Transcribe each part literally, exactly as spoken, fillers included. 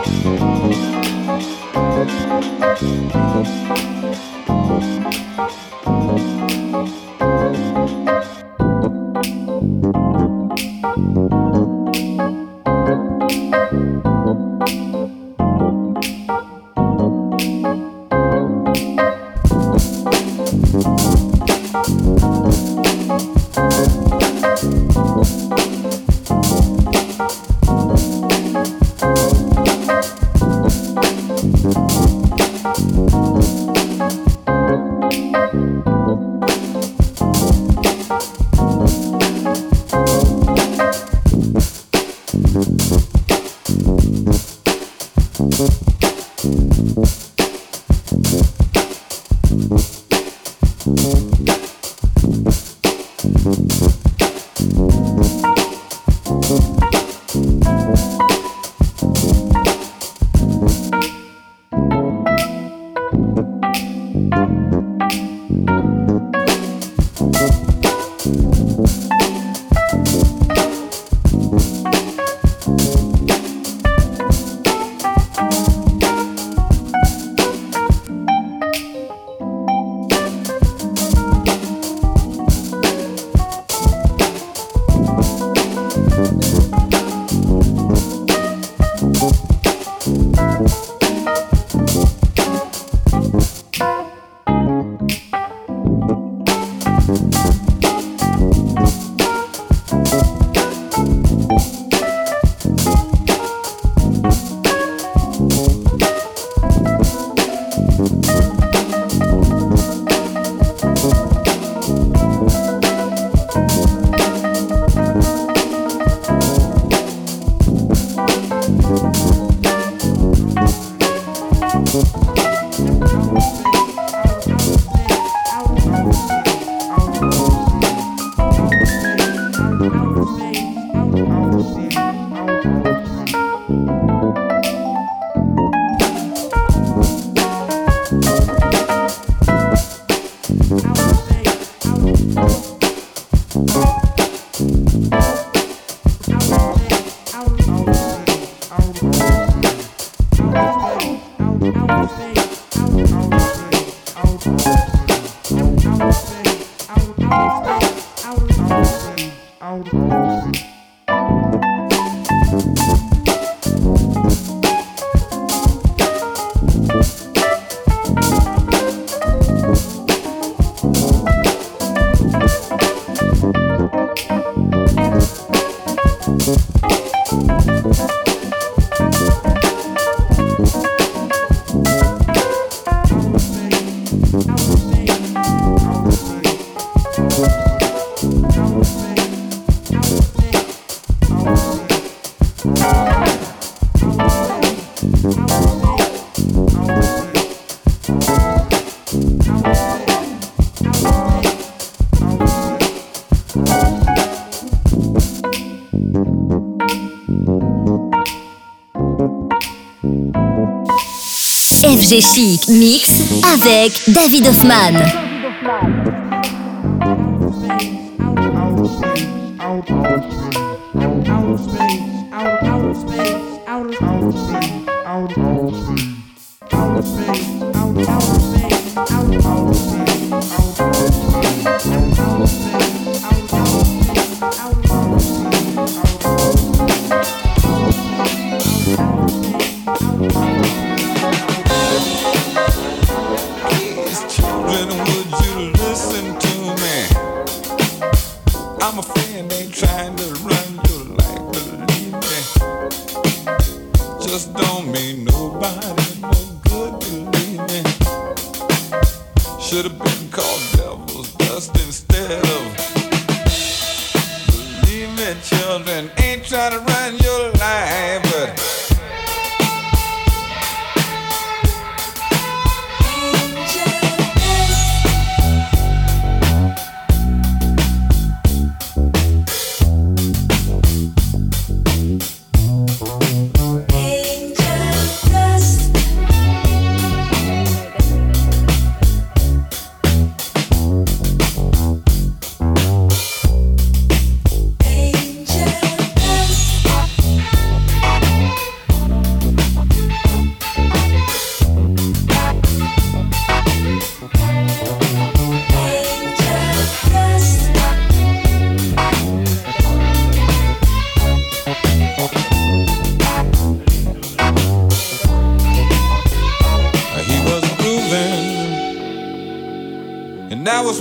F G Chic Mix avec David Hoffman.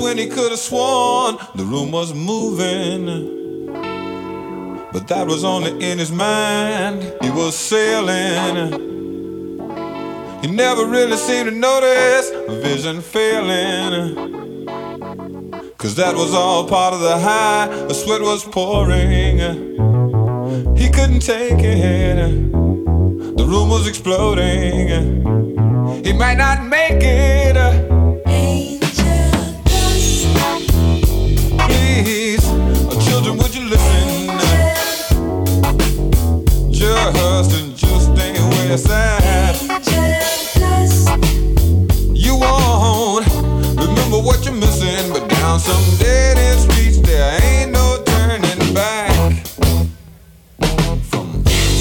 when he could have sworn the room was moving. But that was only in his mind. He was sailing. He never really seemed to notice vision failing. Cause that was all part of the high. The sweat was pouring. He couldn't take it. The room was exploding. He might not make it. Angel dust. Please, children, would you listen? Just and just ain't where it's at. You won't remember what you're missing, but down some dead end streets there ain't no turning back. From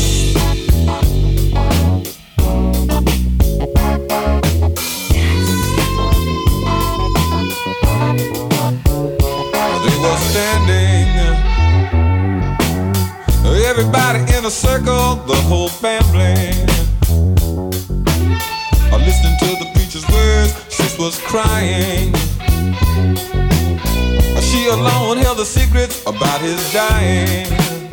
they were standing, everybody in a circle, the whole family, listening to the preacher's words. Sis was crying. She alone held the secrets about his dying.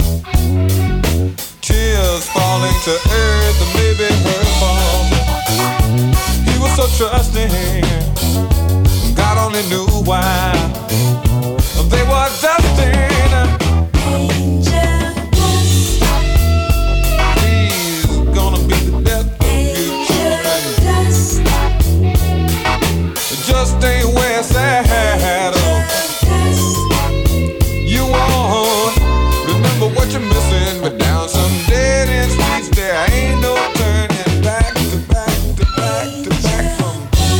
Tears falling to earth, and maybe her fault. He was so trusting. God only knew why. They were dusting. Angel dust. He's gonna be the death of you children. Just ain't where it's at. You won't remember what you're missing, but down some dead end streets there ain't no turning back to back to back to back from.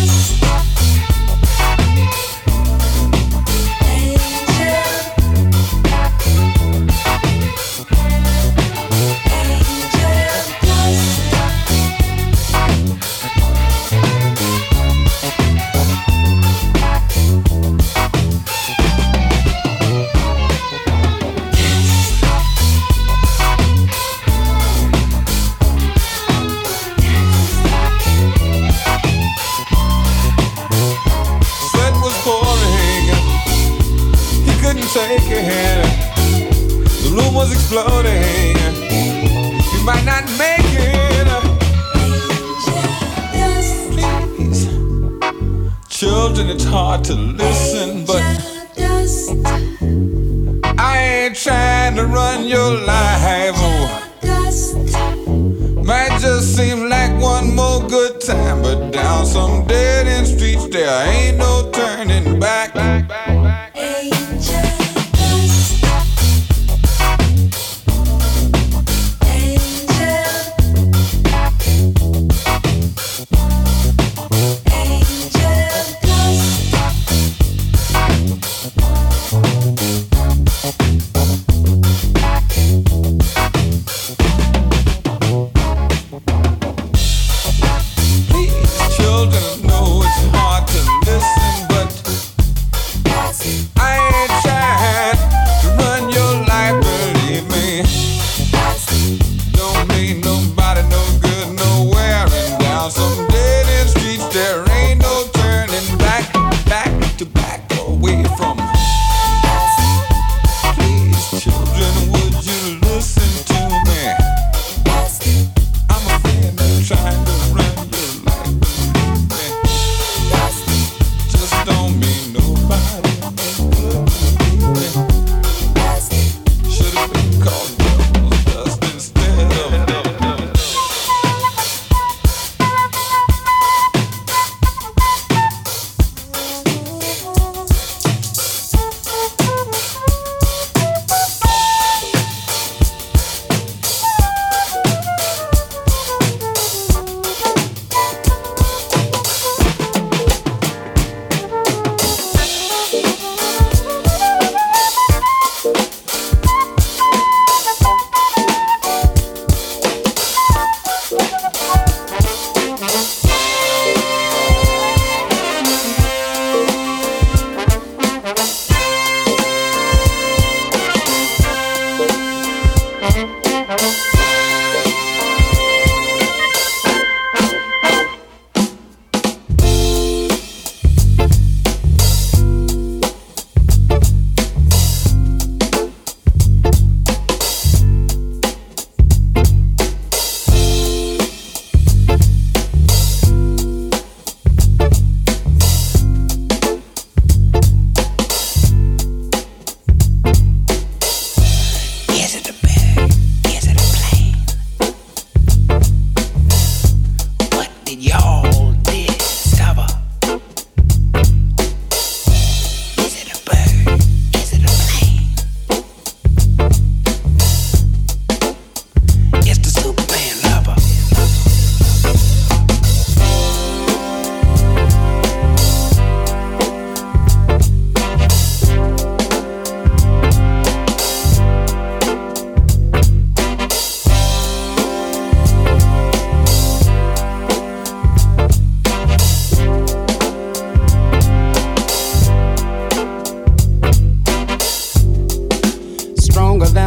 Take it. The room was exploding. You might not make it. Please, children, it's hard to listen, but I ain't trying to run your life. Might just seem like one more good time, but down some dead end streets there ain't no turning back.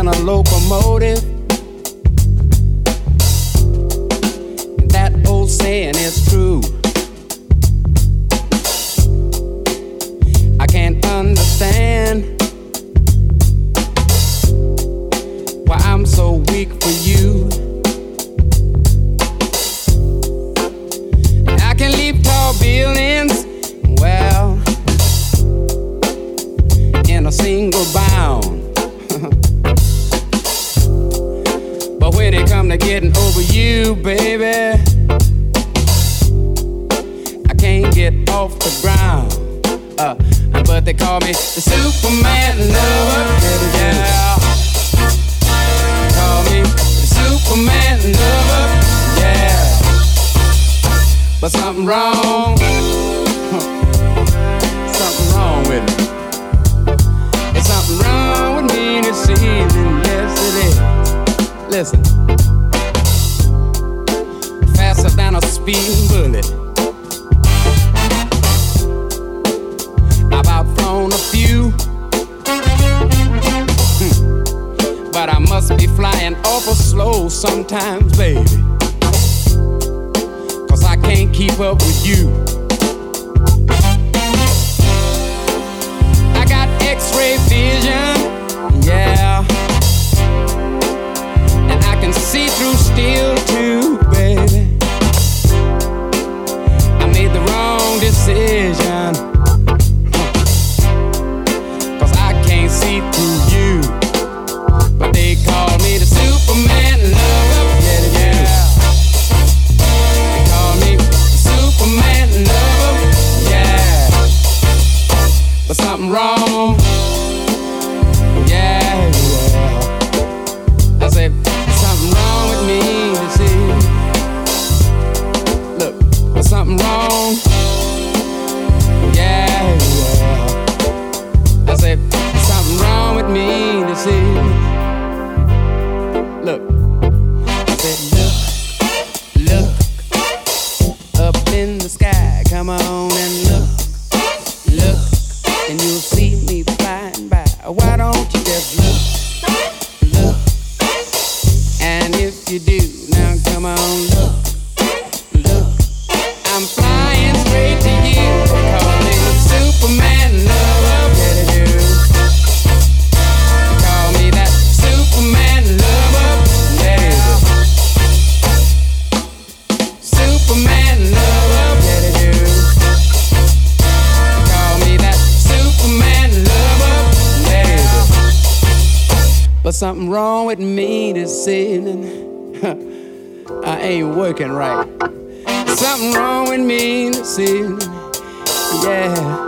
than a locomotive. That old saying is true. I can't understand why I'm so weak for you. I can leap tall buildings, well, in a single bound. But when it come to getting over you, baby, I can't get off the ground. Uh, but they call me the Superman lover. Yeah. Call me the Superman lover. Yeah. But something wrong. Something wrong with me. There's something wrong with me this evening. Yes, it is. Listen. Faster than a speeding bullet. I've outthrown a few, hmm. But I must be flying awful slow sometimes, baby, 'cause I can't keep up with you. I got X-ray vision, yeah, and I can see through steel too, baby. I made the wrong decision, see through you, but they call me the Superman lover. Yeah, yeah. They call me the Superman lover. Yeah, but something wrong. Yeah, yeah. I said something wrong with me. You see, look, there's something wrong. Yeah, yeah. I said. Wrong with me to see. Look, I said, look, look up in the sky. Come on and look, look, and you'll see me flying by. Why don't you just look, look? And if you do, now come on, look, look. I'm flying straight to you, calling the Superman lover. Yeah, they do. Superman lover, yeah. Superman lover, yeah they do. Call me that Superman lover, yeah. But something wrong with me this evening. I ain't working right. Something wrong with me this evening, yeah.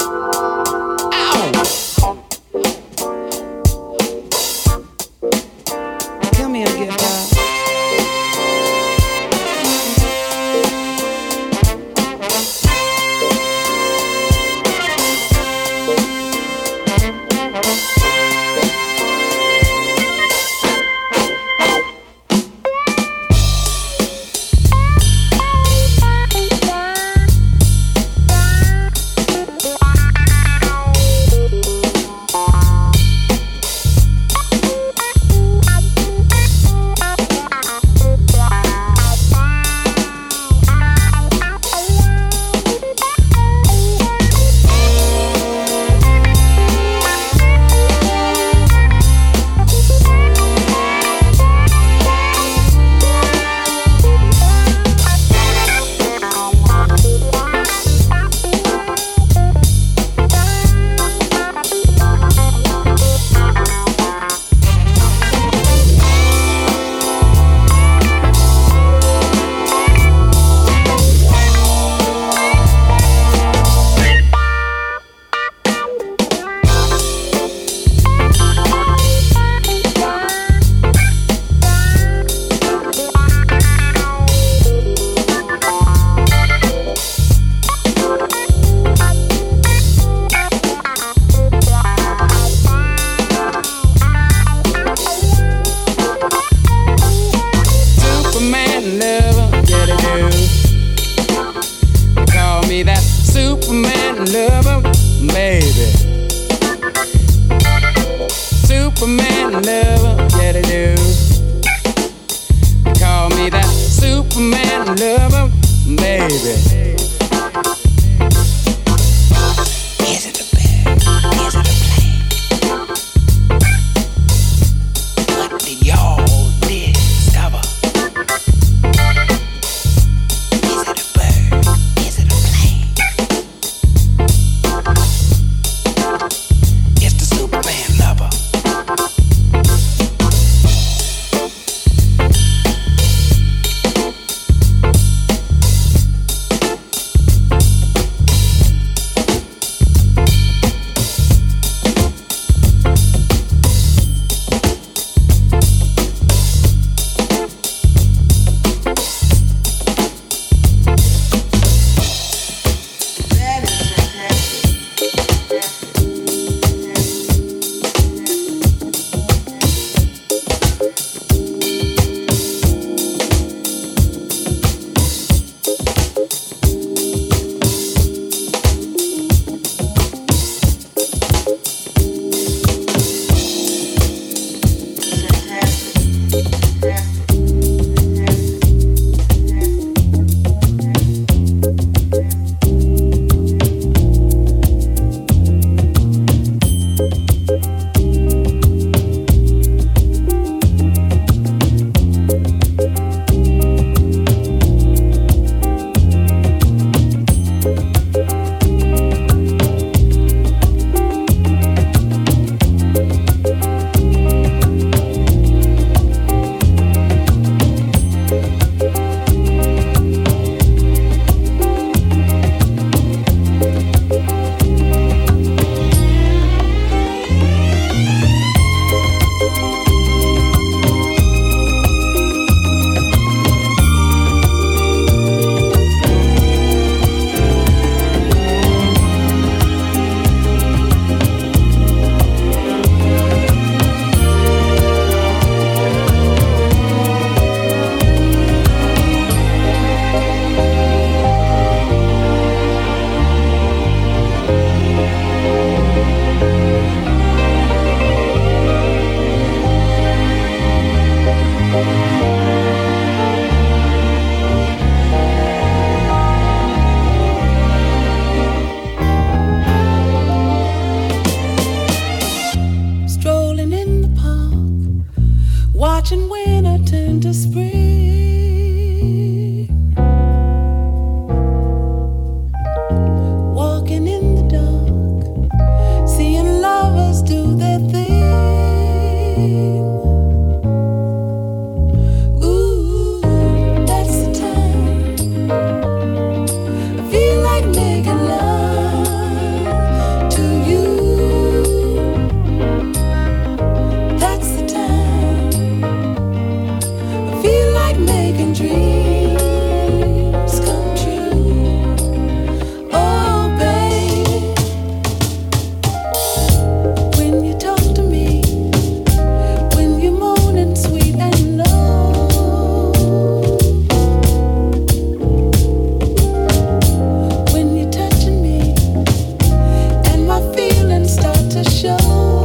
Superman lover, yeah watching winter turn to spring, walking in the dark, seeing lovers do their thing. Ooh, that's the time I feel like making love to you. That's the time I feel like making dreams come true. Oh, baby, when you talk to me, when you're moaning sweet and low, when you're touching me and my feelings start to show.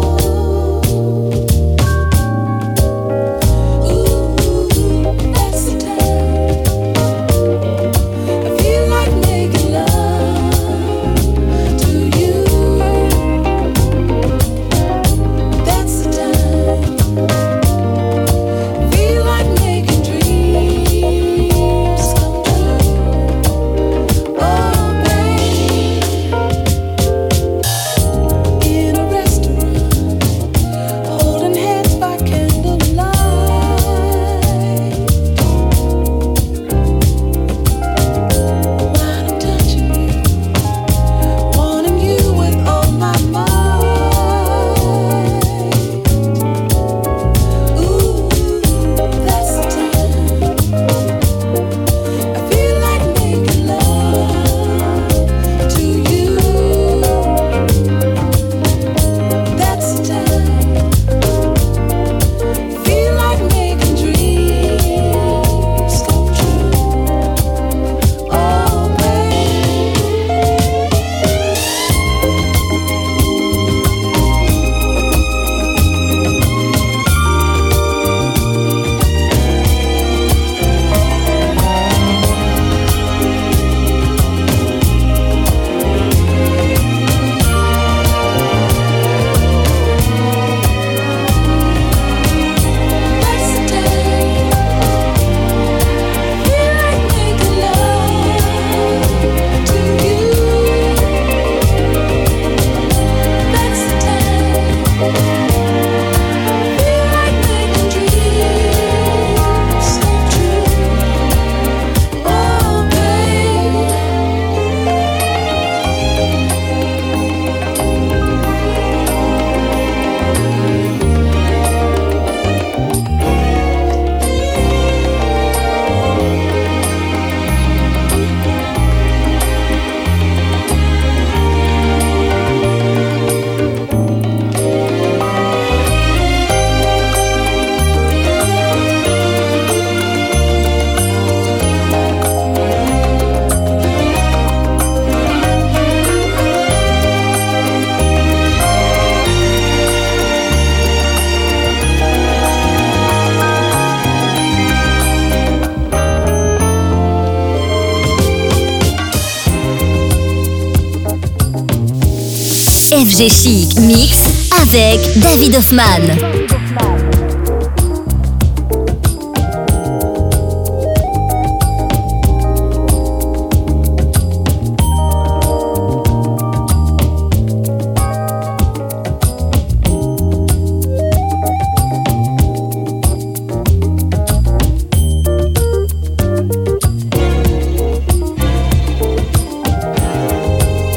F G Chic Mix avec David Hoffman.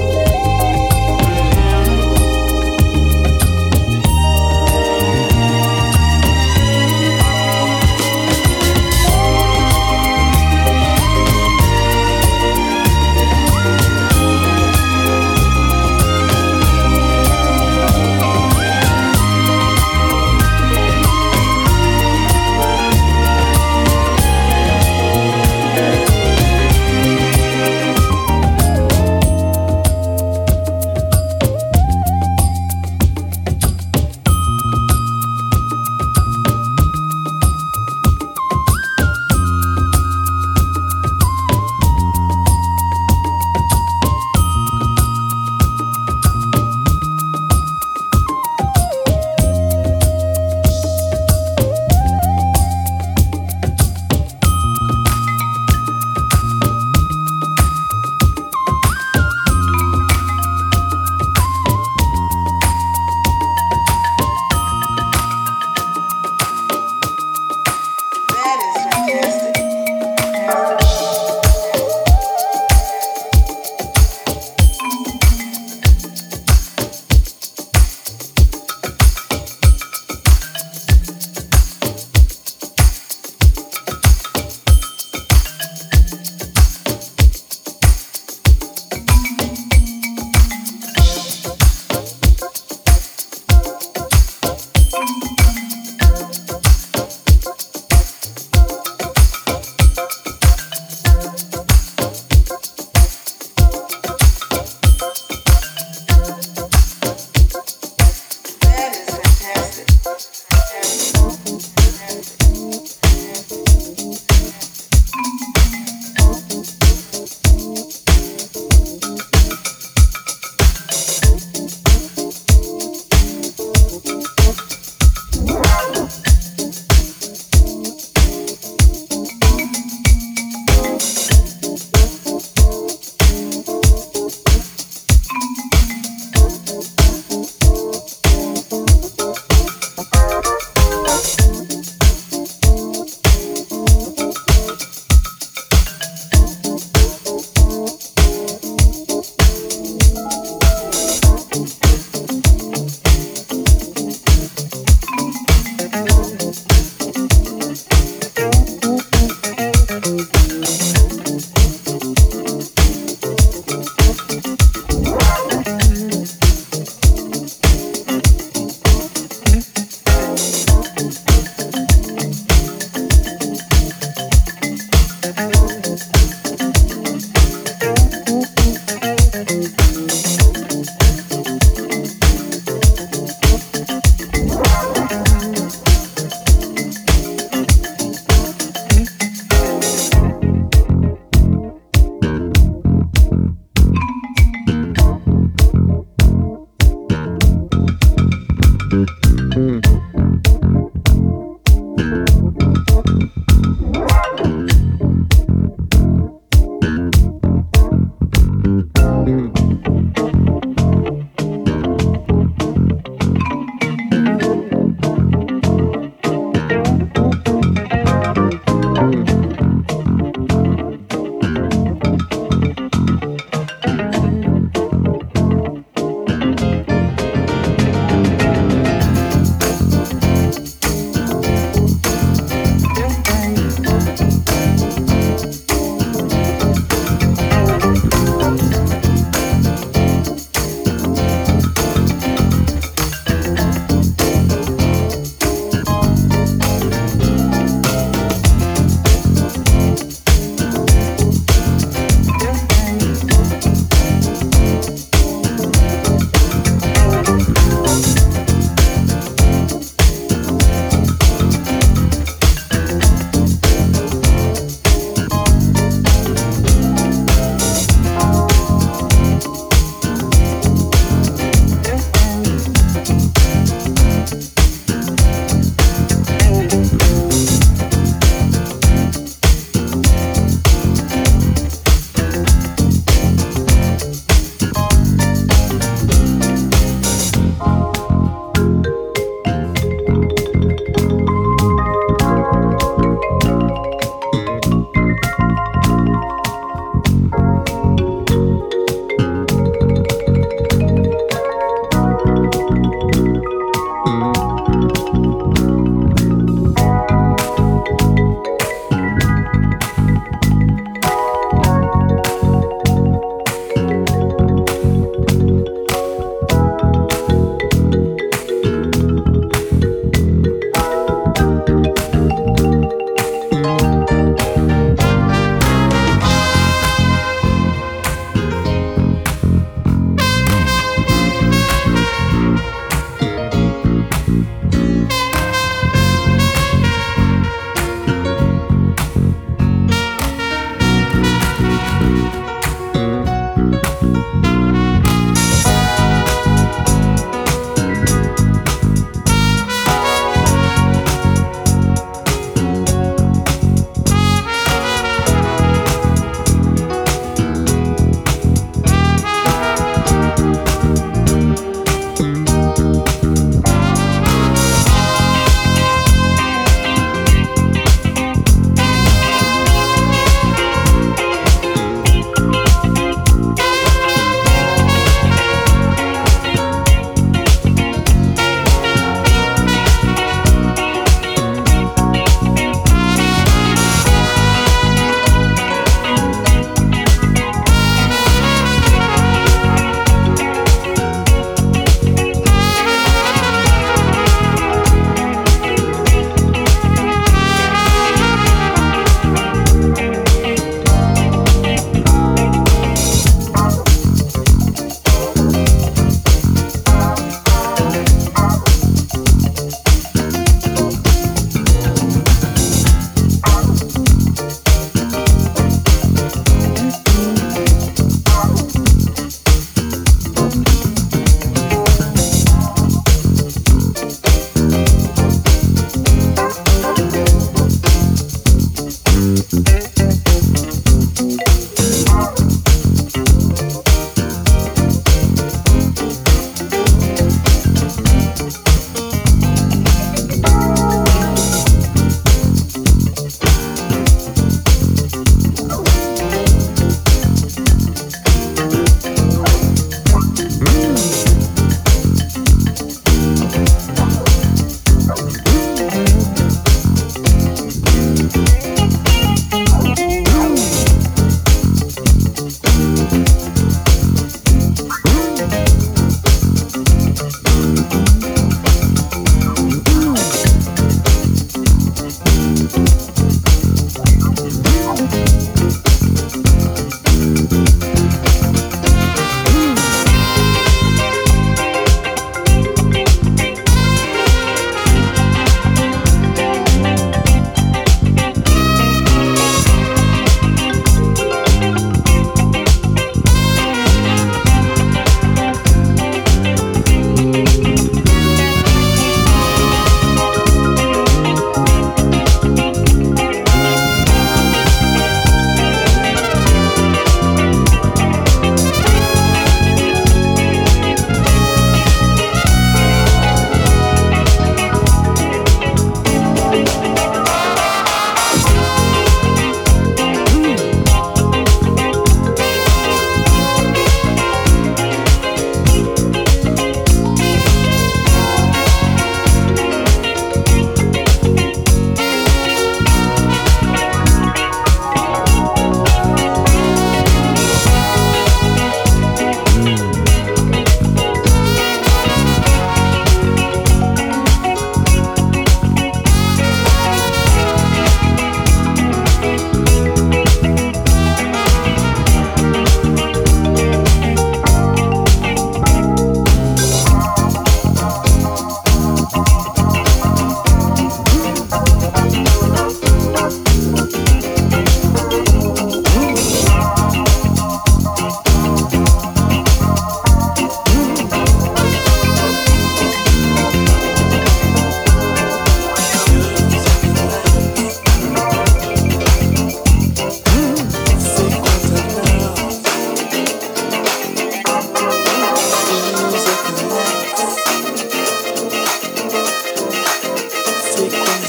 Thank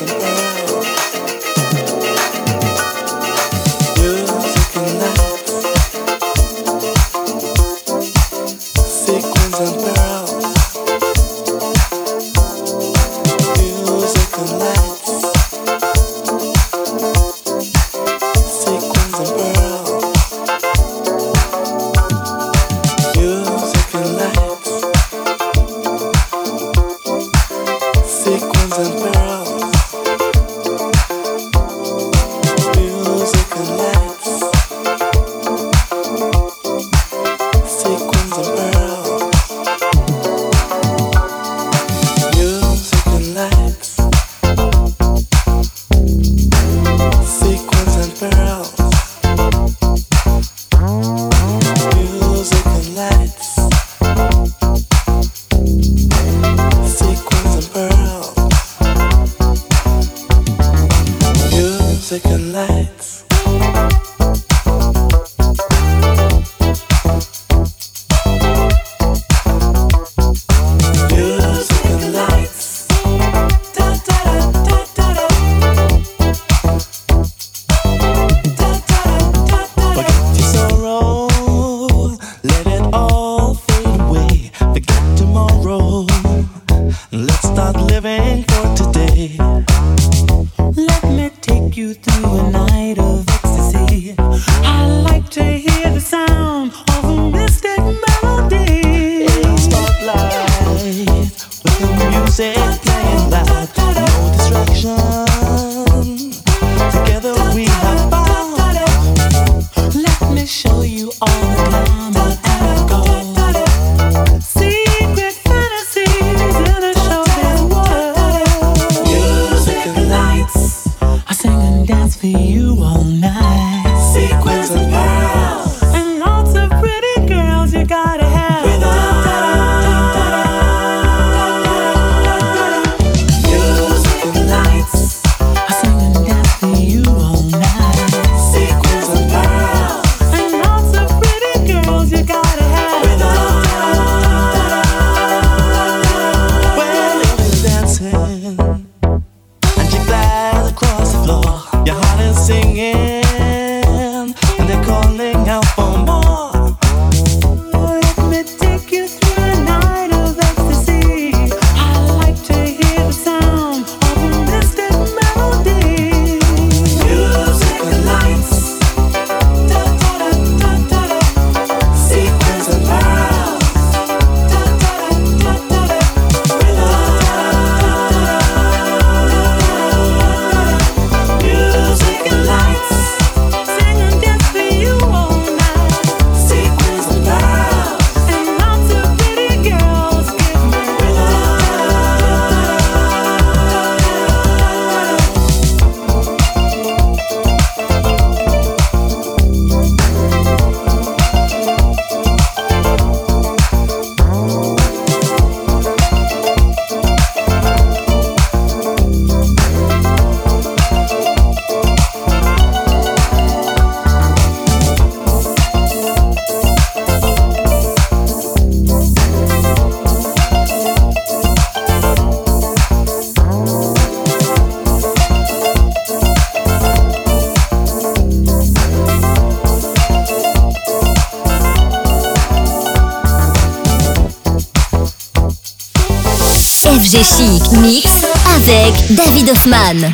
F G Chic Mix avec David Hoffman.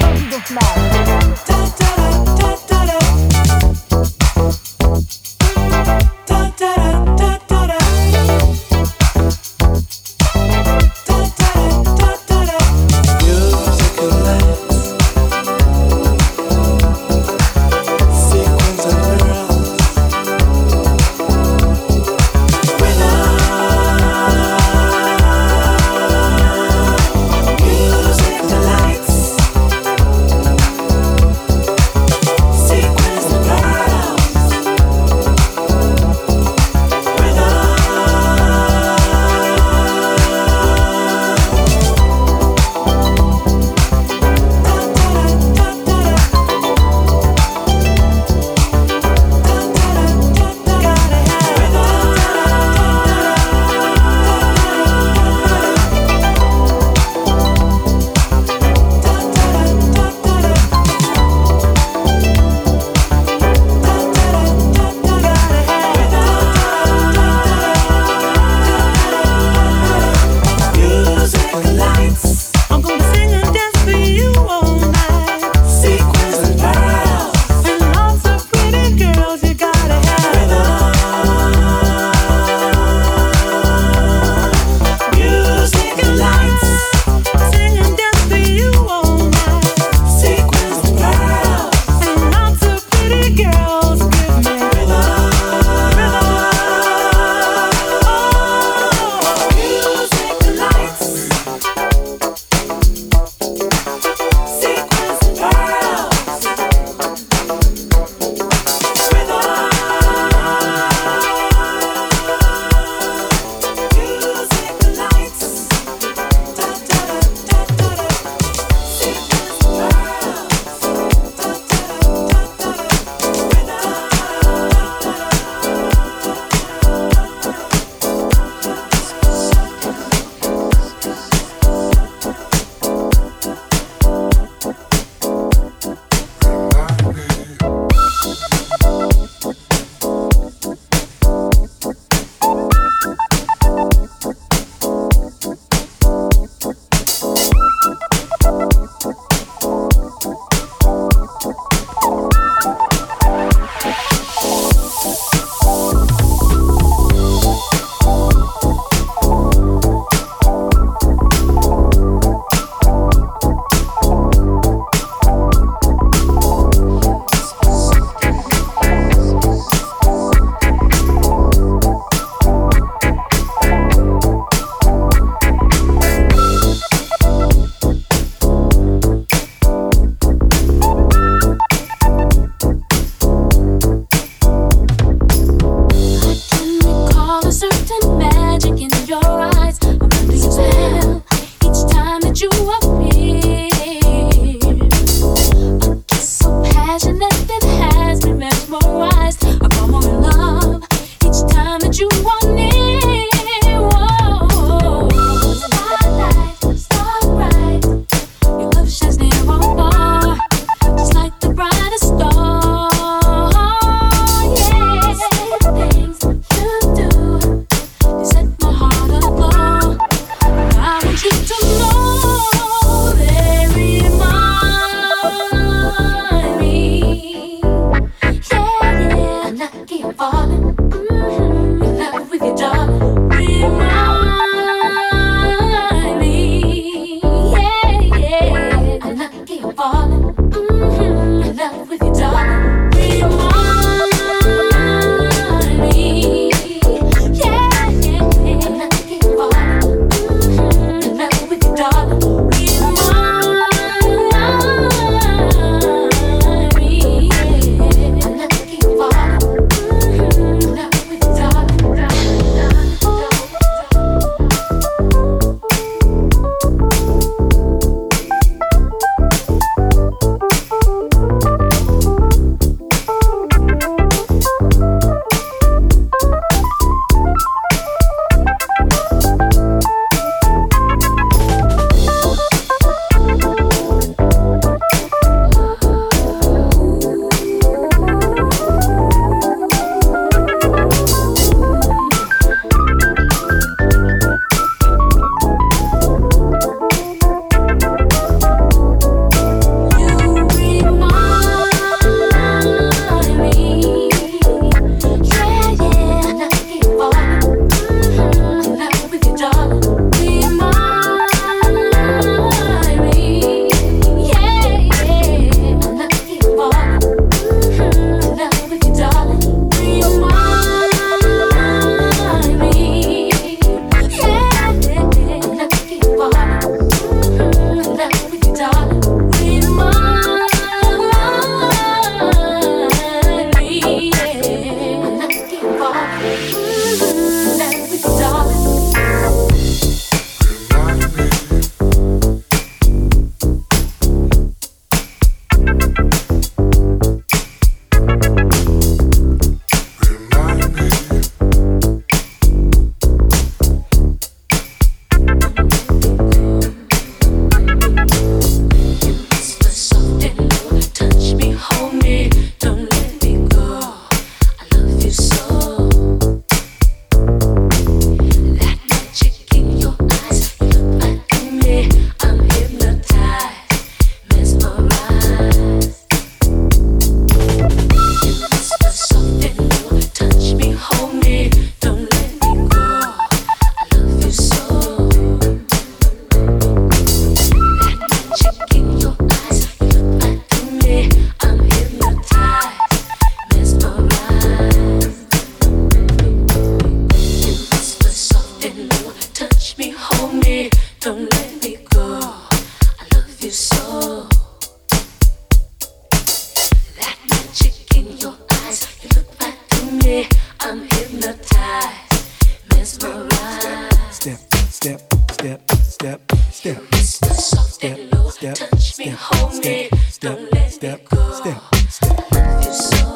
step, step, step, step. You're so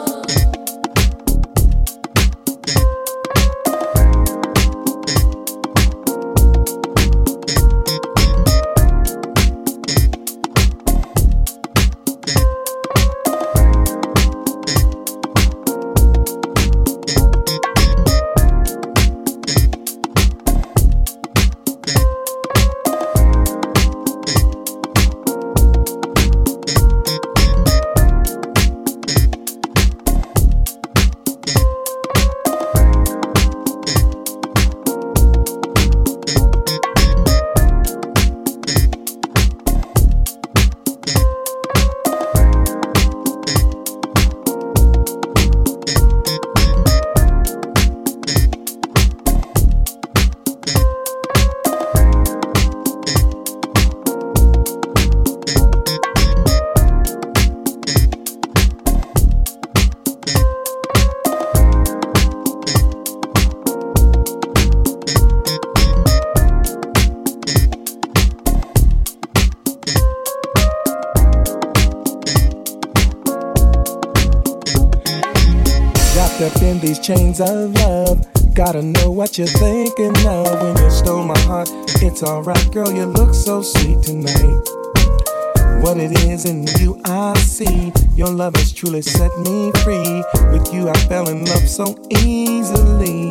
up in these chains of love. Gotta know what you're thinking of when you stole my heart. It's alright, girl, you look so sweet tonight. What it is in you I see. Your love has truly set me free. With you I fell in love so easily.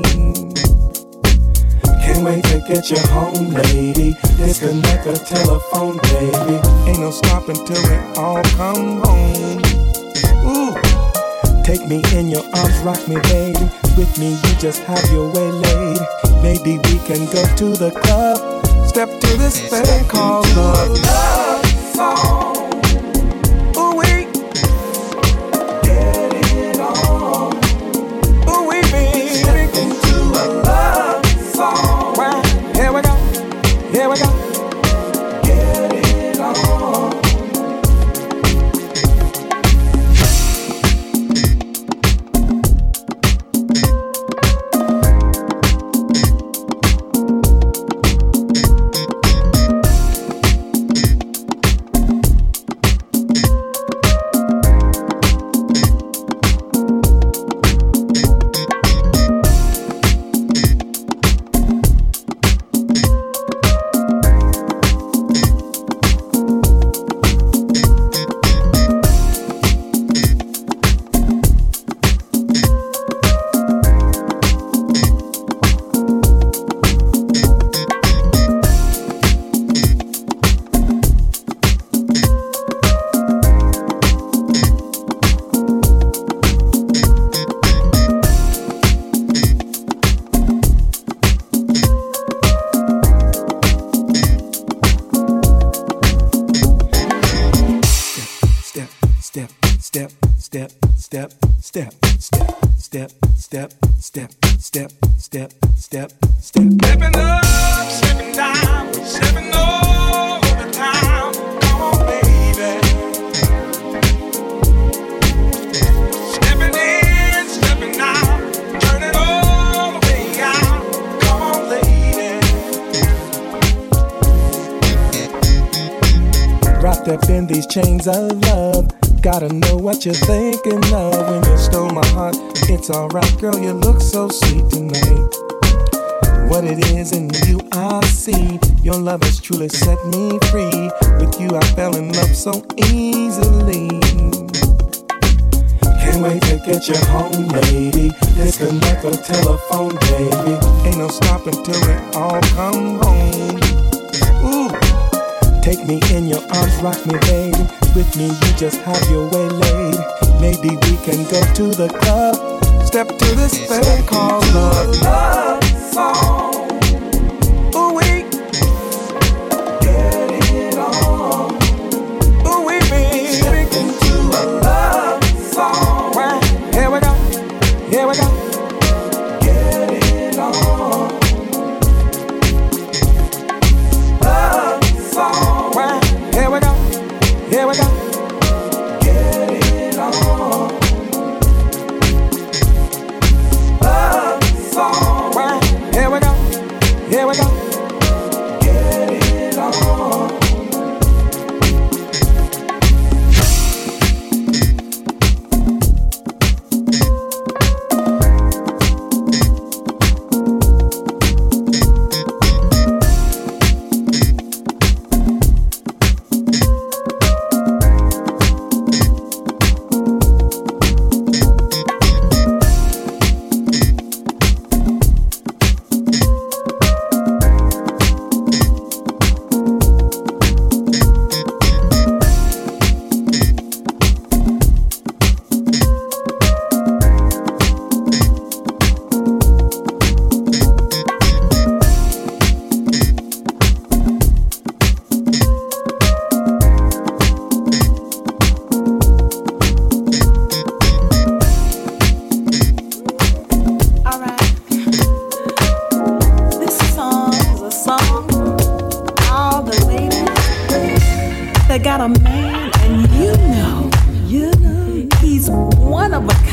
Can't wait to get you home, lady. Disconnect the telephone, baby. Ain't no stopping till we all come home. Ooh. Take me in your arms, rock me, baby. With me, you just have your way, lady. Maybe we can go to the club. Step to this thing called love. Love song. Ooh, we get it on. Ooh, we be step into a love song. Well, here we go. Here we go. Get it on. Step, step, step, step. Stepping up, stepping down, stepping over town. Come on, baby. Stepping in, stepping out, turning all the way out. Come on, lady. Wrapped up in these chains of love. Gotta know what you're thinking of when you stole my heart. It's alright, girl, you look so sweet tonight. What it is in you I see. Your love has truly set me free. With you I fell in love so easily. Can't wait to get you home, lady. Disconnect the telephone, baby. Ain't no stopping till we all come home. Ooh. Take me in your arms, rock me, baby. With me, you just have your way, lady. Maybe we can go to the club. Step to this thing called love. Love song. Ooh, we get it on. Ooh, we be speaking to a love song. Well, here we go. Here we go. Get it on. Love song. Well, here we go. Here we go. Get it on. Love song. Well, here we go.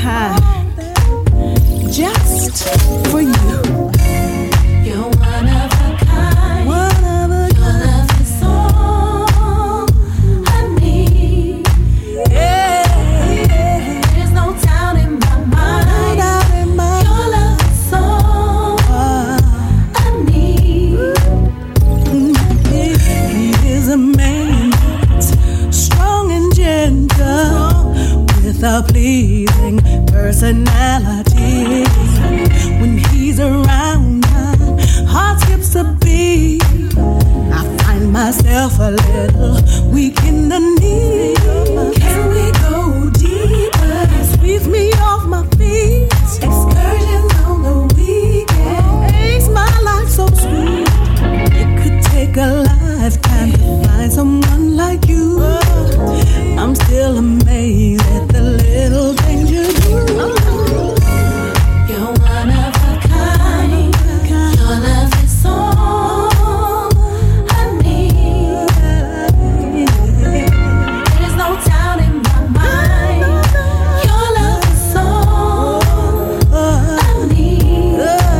kind, just for you. You're one of a kind. One of a Your love is all I need. Yeah, yeah. There's no doubt in my mind. No doubt in my Your love is all I need. He is a man that's strong and gentle, with a pleasing personality. When he's around, my heart skips a beat. I find myself a little weak in the knee. Can we go deeper? Sweeps me off my feet. Excursions on the weekend. Makes my life so sweet. It could take a lifetime to find someone like you. I'm still amazed at the little things you do. You're one of a kind. Your love is all I need. There's no doubt in my mind. Your love is all I need.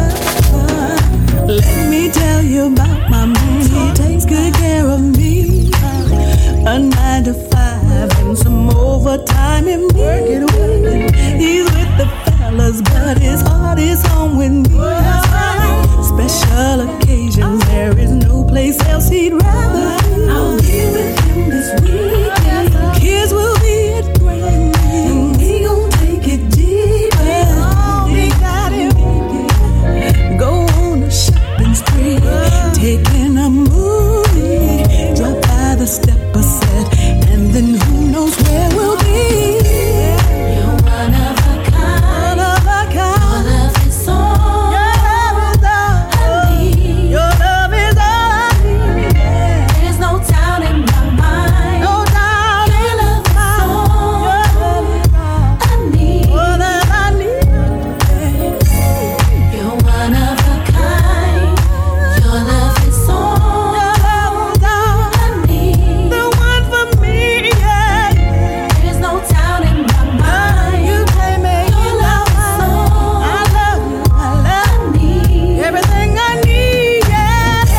Let me tell you about my man. He takes good care of me. A nine to five and some overtime in me. He's with the fellas, but his heart is home with me. Special occasions, there is no place else he'd rather be. I'll be with him this weekend. Kids will be at Grammy, And we gon' take it deeper. oh, we got him. Go on a shopping spree, taking a movie, drop by the Stepper set, and then who knows where we'll be. You're one of a kind. One of a Your kind. love is all Your love is all I need. Your love is all I need. There's no doubt in my mind. No doubt Your in love my is mind. all Your love is all I need. all that I need. You're one of a kind. Your love is all Your love is all I need. the one for me, yeah. There's no doubt in my mind. You take me, Your love is all I love you, I I love need. everything I need, yeah.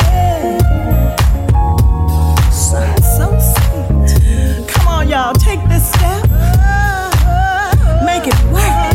So, so sweet. Come on, y'all, take this step. Make it work.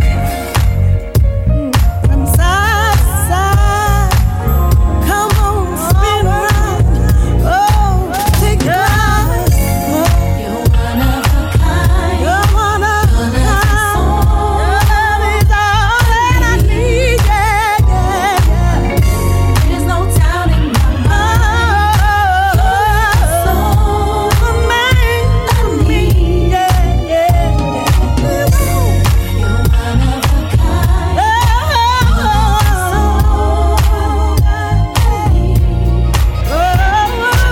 From side to side. Come on, spin around. Oh, take a ride. You're one of a kind. You're one of Your a love is kind. all Your love is all that I need, yeah, yeah, yeah. There's no doubt in my mind. Your love is all Oh, man, I need. yeah, yeah. You're one of a kind. Your love is all I need.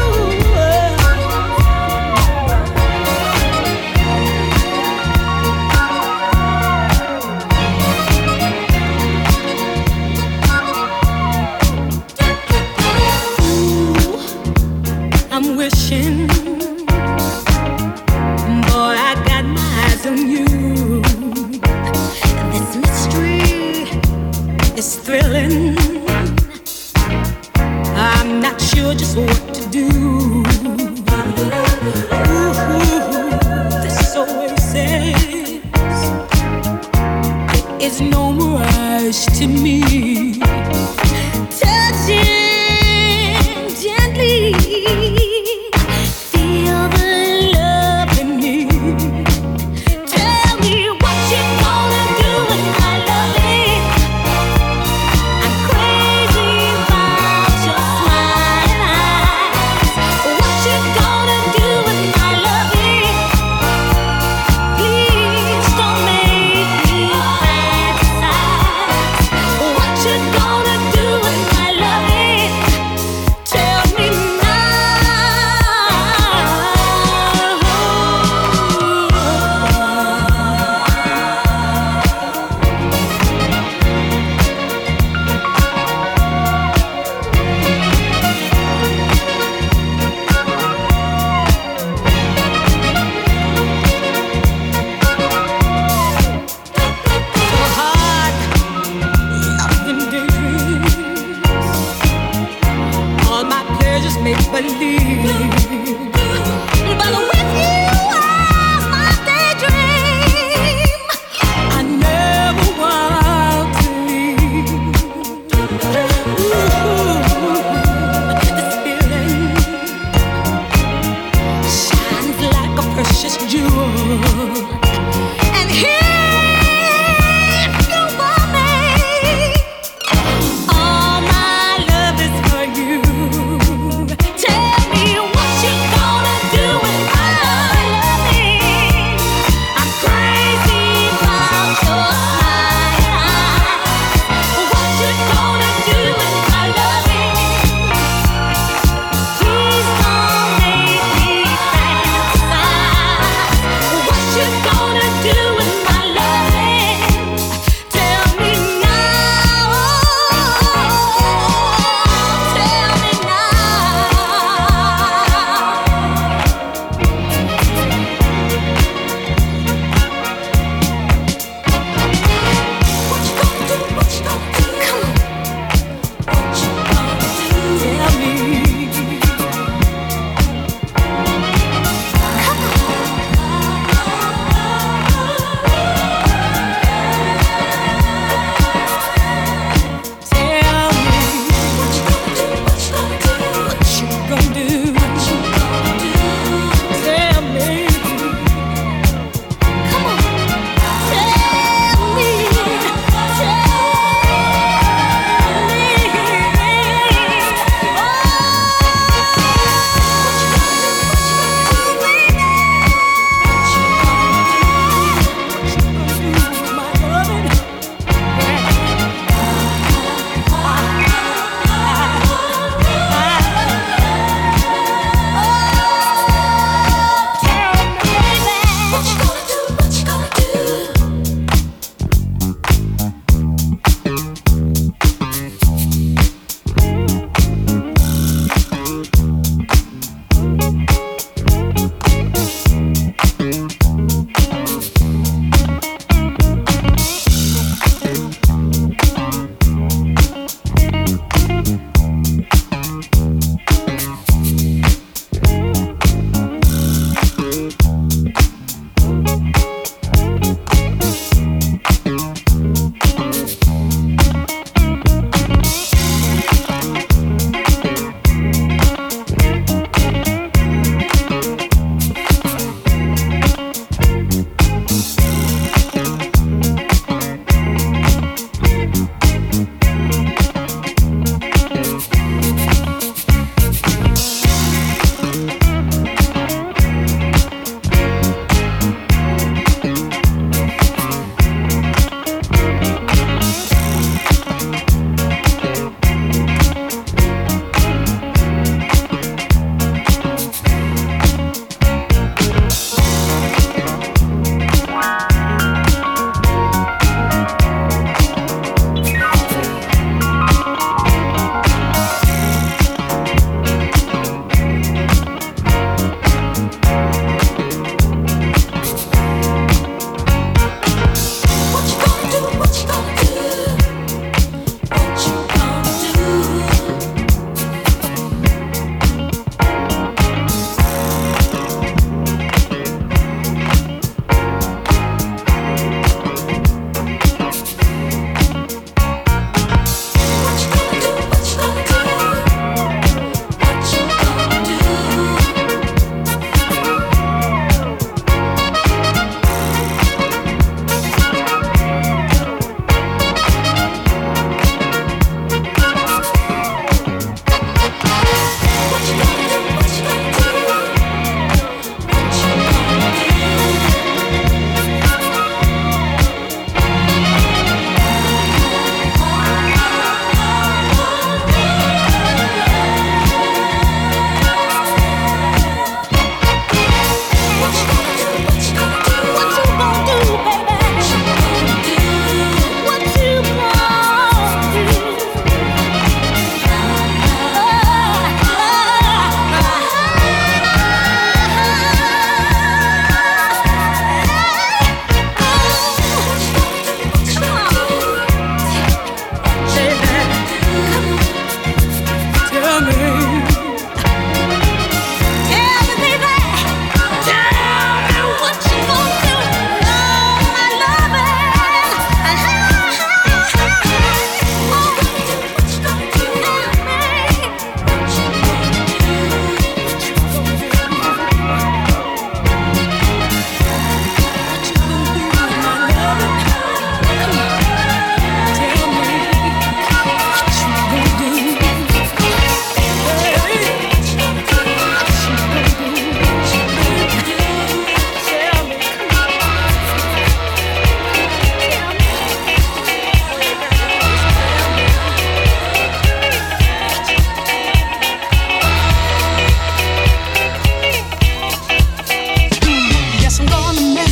I'm wishing, boy, I got my eyes on you. This mystery is thrilling. I'm not sure just what to do. Ooh, this oasis is no mirage to me. Touching gently, feel the love in me. Tell me what you gonna do with my loving. I'm crazy about your smiling eyes. What you gonna do with my loving? Please don't make me fantasize. What precious jewel. And if you want me, all my love is for you. Tell me what you gonna do with my loving. I'm crazy about your smile. What you gonna do with my loving? Please don't make me fantasize. What you gonna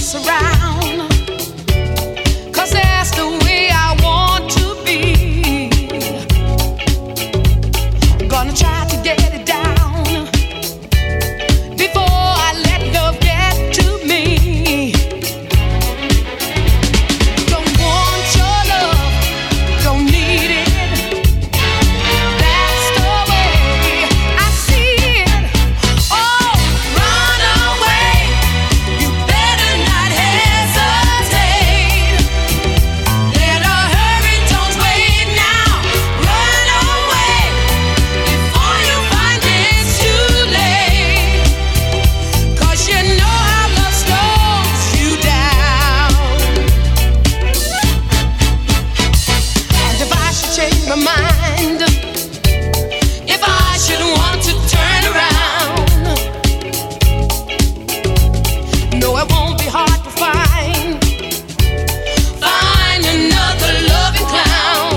mess around, 'cause that's the way I want to be. Gonna try to get it down before I let love get to me. Don't want your love, don't need it. That's the way I see it. Oh, run away. You better not hesitate. Better hurry, don't wait now. Run away before you find it's too late. 'Cause you know how love slows you down. And if I should change my mind, if I should want to turn around, no, it won't be hard to find, find another loving clown.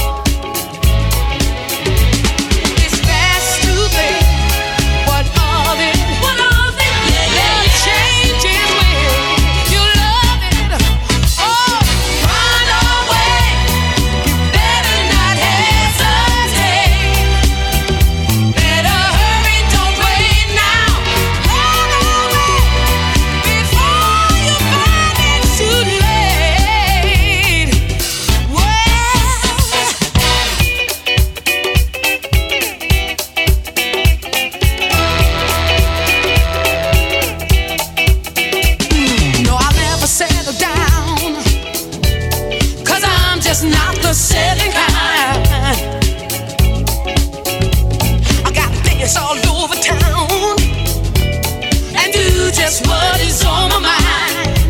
It's best to think what of it, what of it, yeah, yeah, yeah. Change is will, you love it. Oh, run away, you better not hesitate. Better hurry, don't wait now. Run away before you find it's too late. Well, no, I'll never settle down, 'cause I'm just not the settling kind. I gotta dance all over town and do just what is on my mind.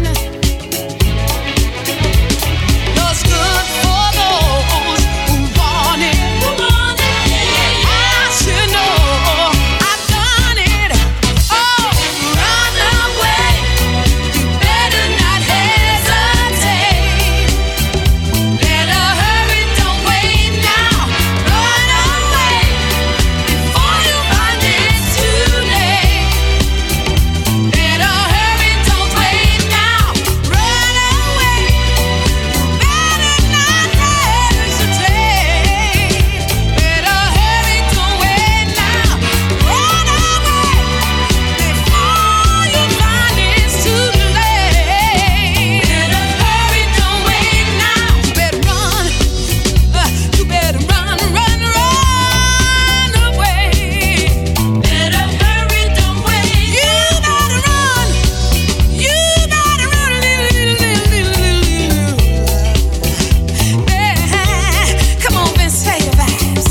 What's good for those who want it, who want it, yeah, yeah, yeah. I should know I've done it. Oh, run away, you better not hesitate. Better hurry, don't wait now. Run away before you find it's too late. Better hurry, don't wait now. Run away, better not hesitate. Better hurry, don't wait now. Run away before you find it's too late. Better hurry, don't wait now. You better run, uh, you better run, run, run away. Better hurry, don't wait. You gotta run, you gotta run. Yeah. Come on, Vince, take your vibes.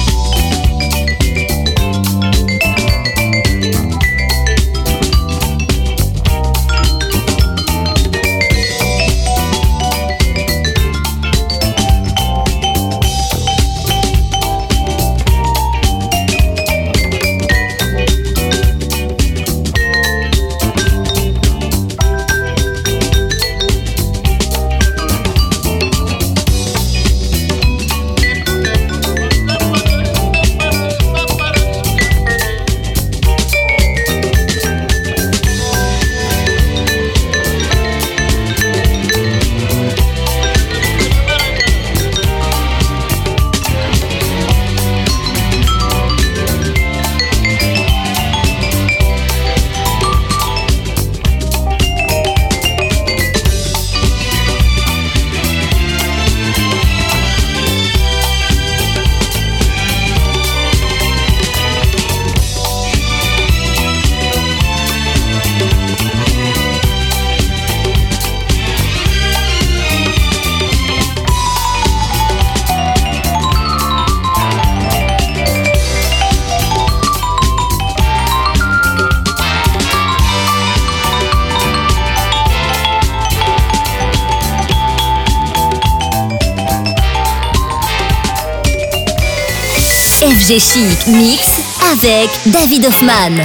F G Chic Mix avec David Hoffman.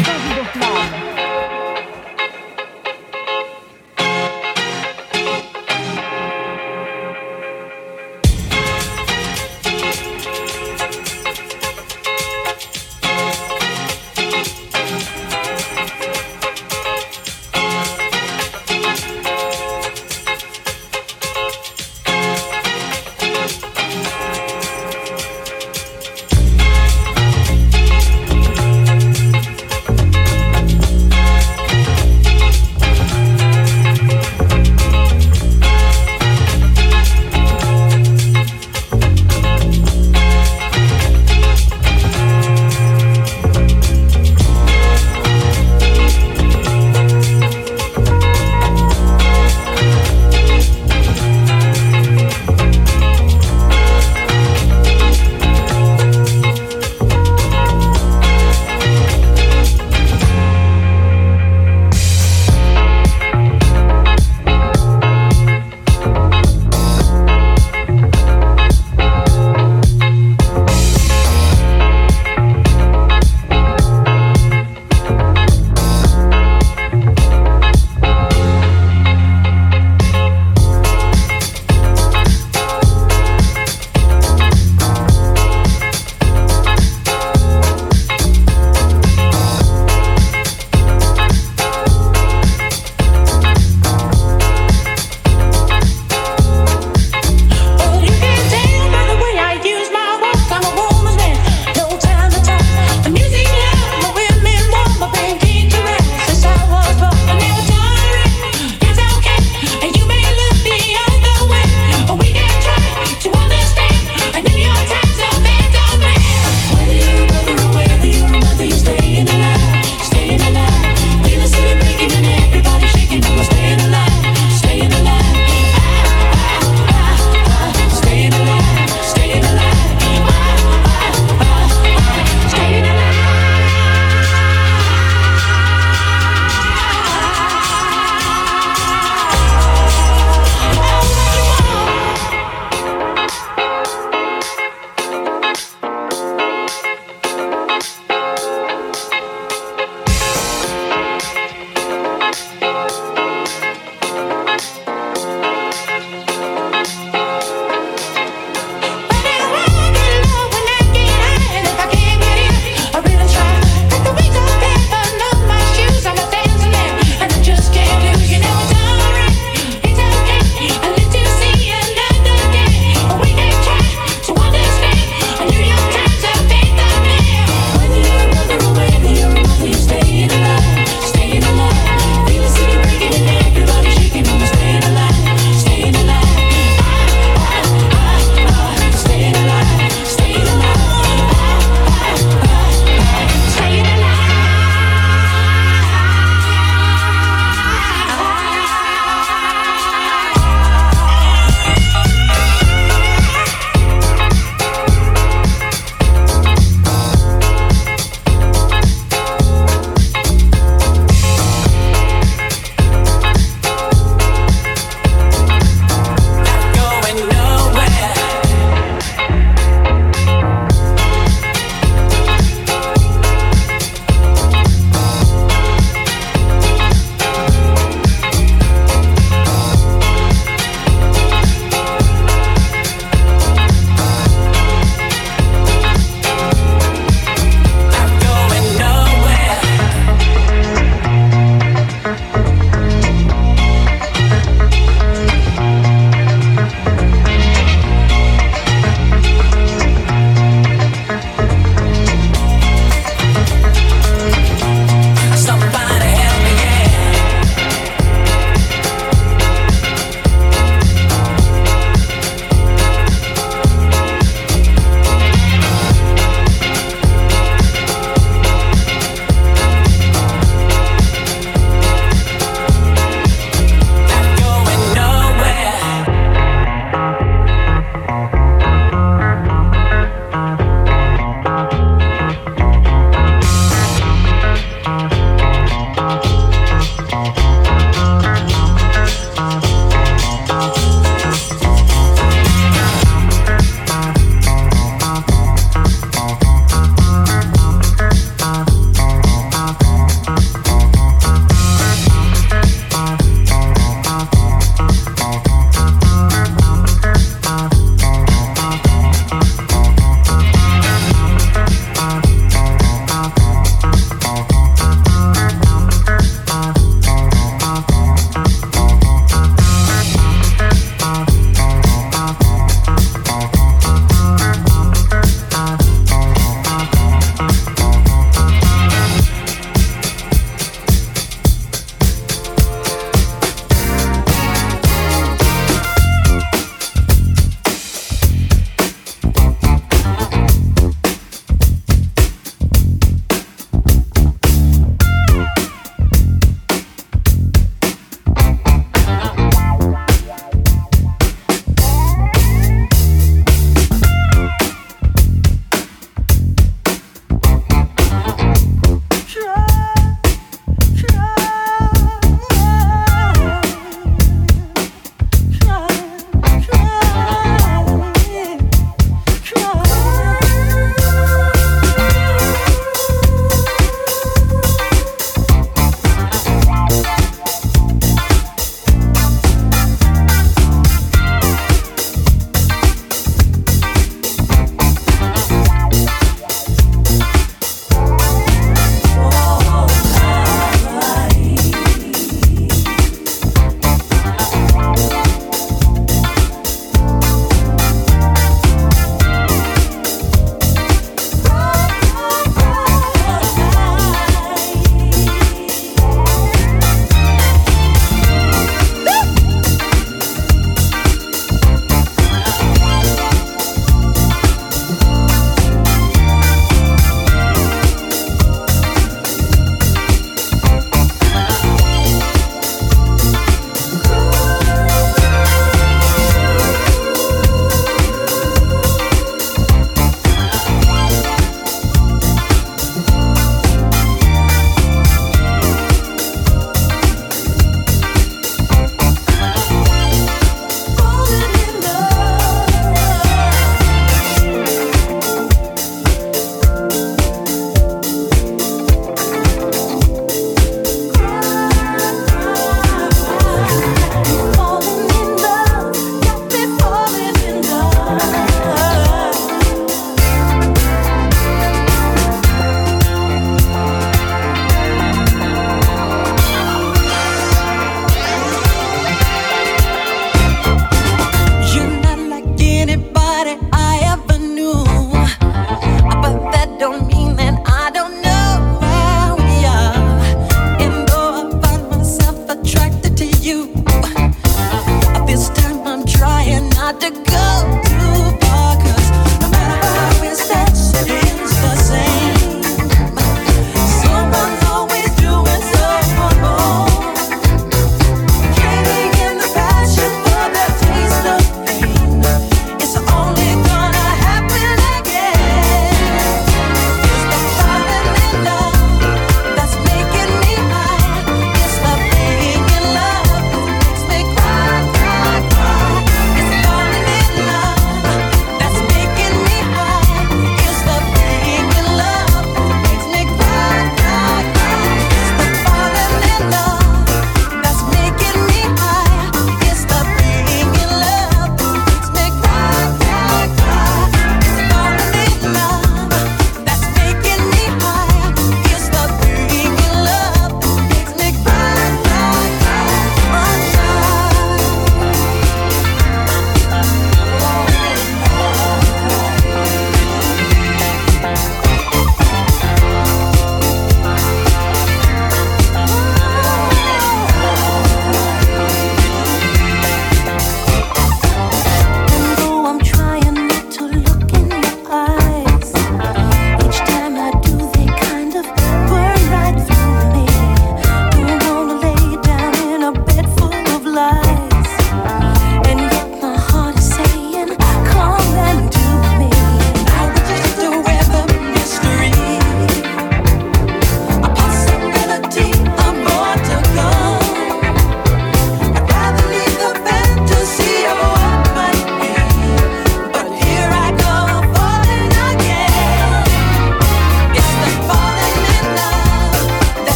not to go too far, 'cause no matter how we stretch, it ends the same. Someone's always doing someone wrong, trading in the passion for the taste of pain. It's only gonna happen again. It's the falling in love that's making me high. It's the being in love that makes me cry, cry, cry. It's falling in love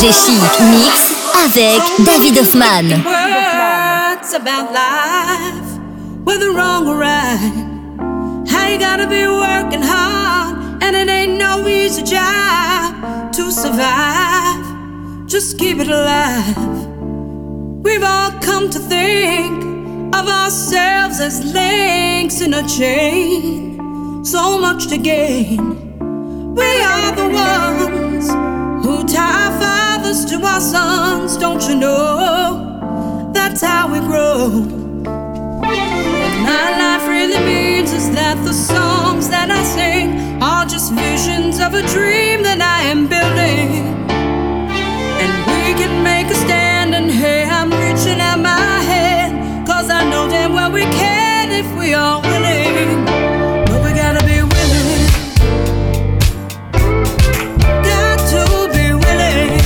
D J Chic Mix avec David Hoffman. Words about life, whether wrong or right. How you gotta be working hard, and it ain't no easy job to survive. Just keep it alive. We've all come to think of ourselves as links in a chain. So much to gain. We are the ones who tie our fathers to our sons. Don't you know? That's how we grow. What my life really means is that the songs that I sing are just visions of a dream that I am building. And we can make a stand, and hey, I'm reaching out my hand, 'cause I know damn well we can if we are willing. But we gotta be willing. Got to be willing.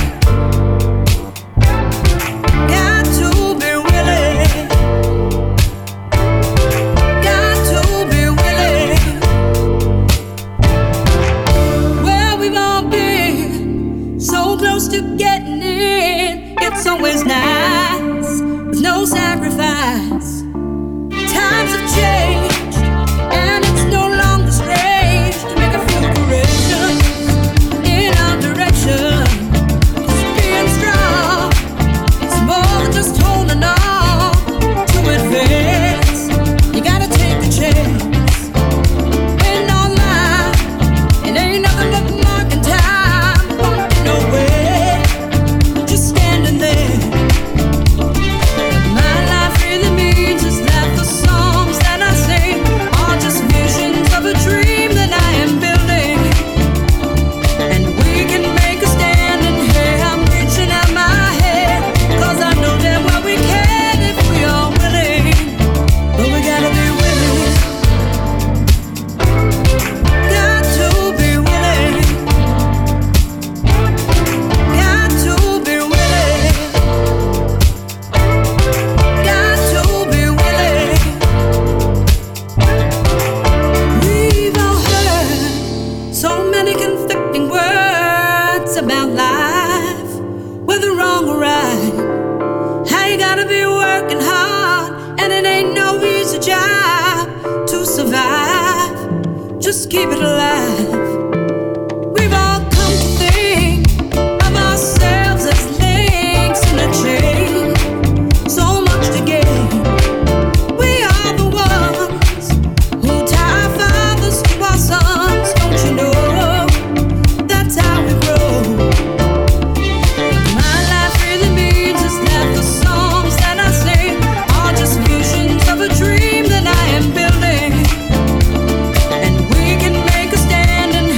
Got to be willing. Got to be willing. Well, we've all been so close to getting in. It's always nice with no sacrifice. Times have changed, and it's no longer strange to make a few corrections in our direction. 'Cause being strong, it's more than just holding on to advance. You gotta take the chance. In our life, it ain't nothing but marking time. Won't be nowhere, just standing there. My life really means is that the songs that I sing are just visions of a dream that I am building. And we can make a stand, and hey, I'm reaching out my hand, 'cause I know damn well we can if we are willing. But we gotta be willing. Got to be willing. Got to be willing. Got to be willing. We've all heard so many conflicting words about life, whether wrong or right. How you gotta be working hard, and it ain't no easy job to survive. Just keep it alive. We've all come to think of ourselves as links in a chain. So much to gain. We are the ones who tie our fathers to our sons. Don't you know? That's how we grow. My life really means is that the songs that I sing are just visions of a dream that I am building. And we can make a stand, and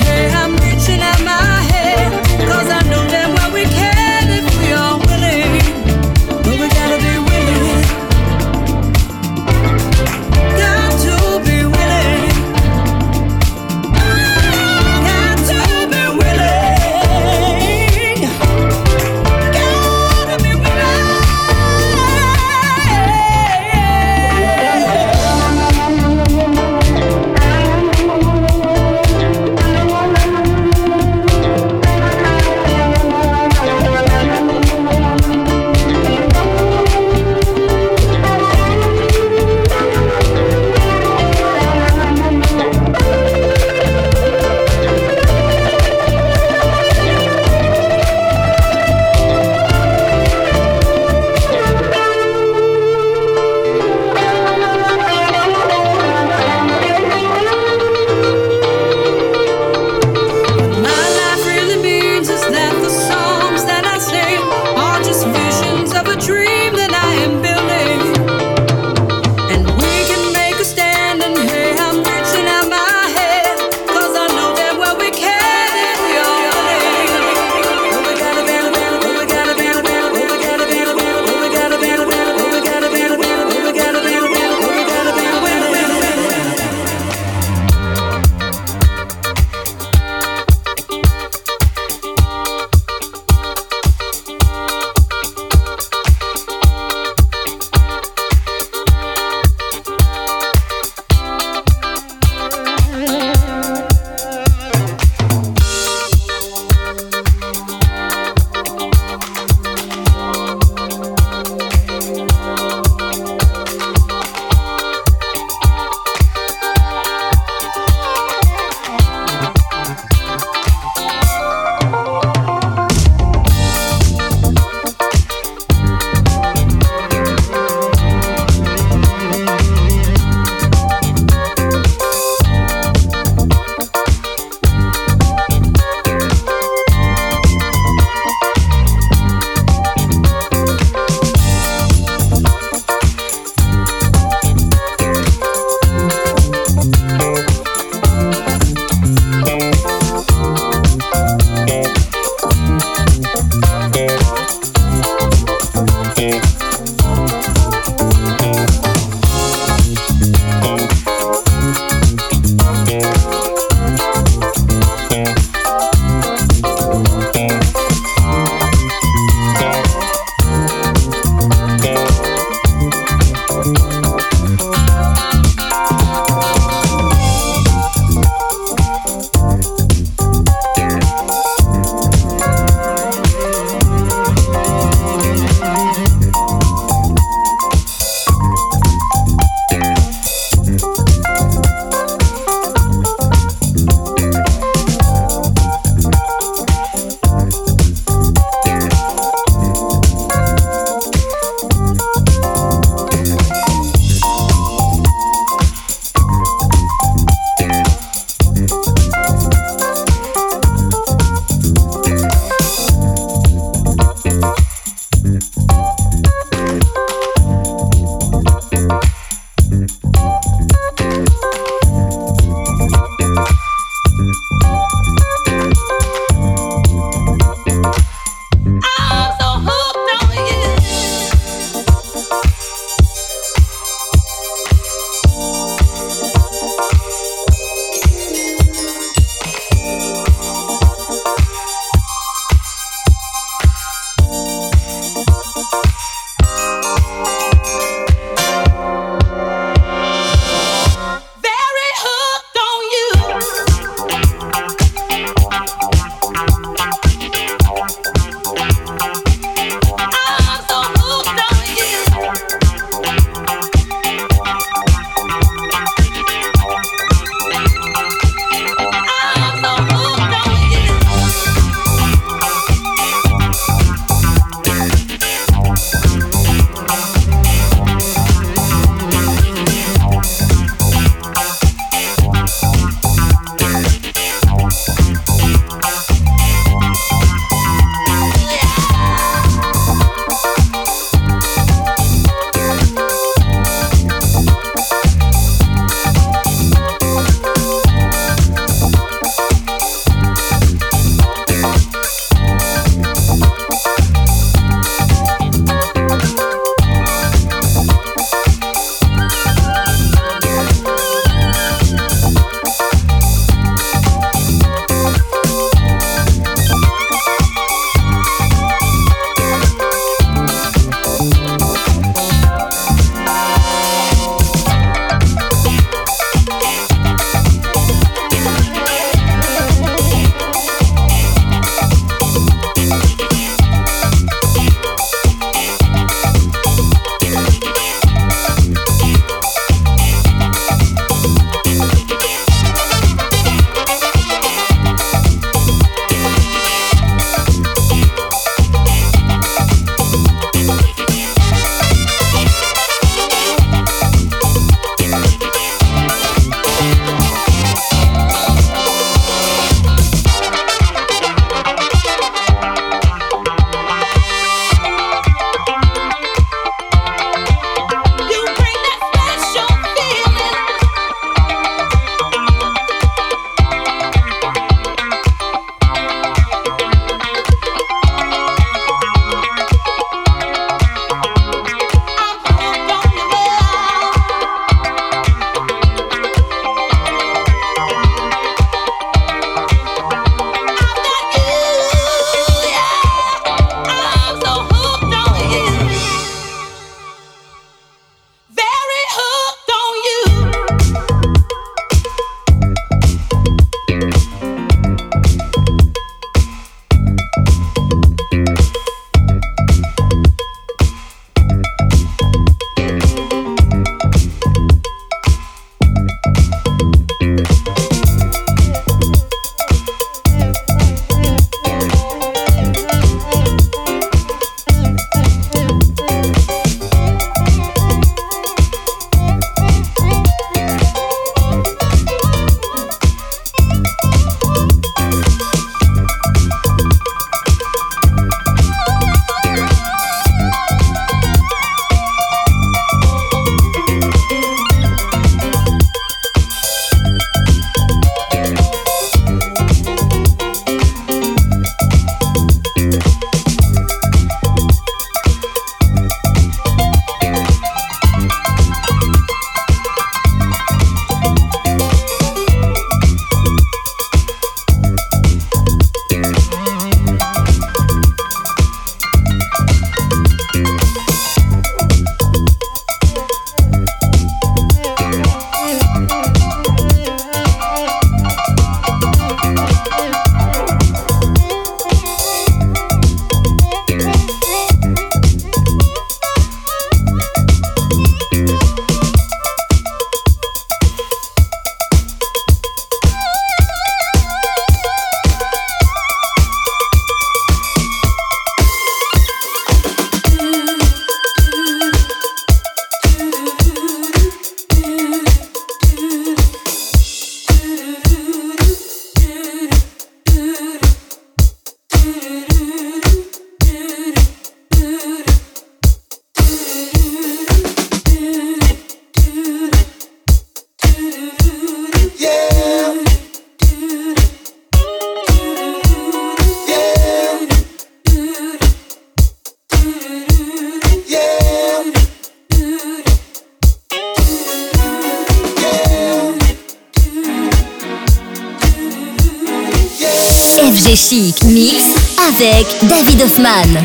F G Chic Mix avec David Hoffman.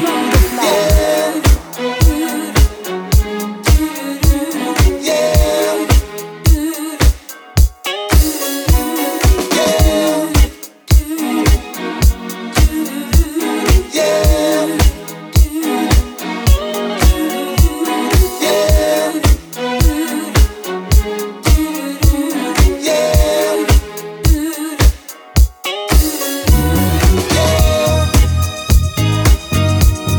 Yeah.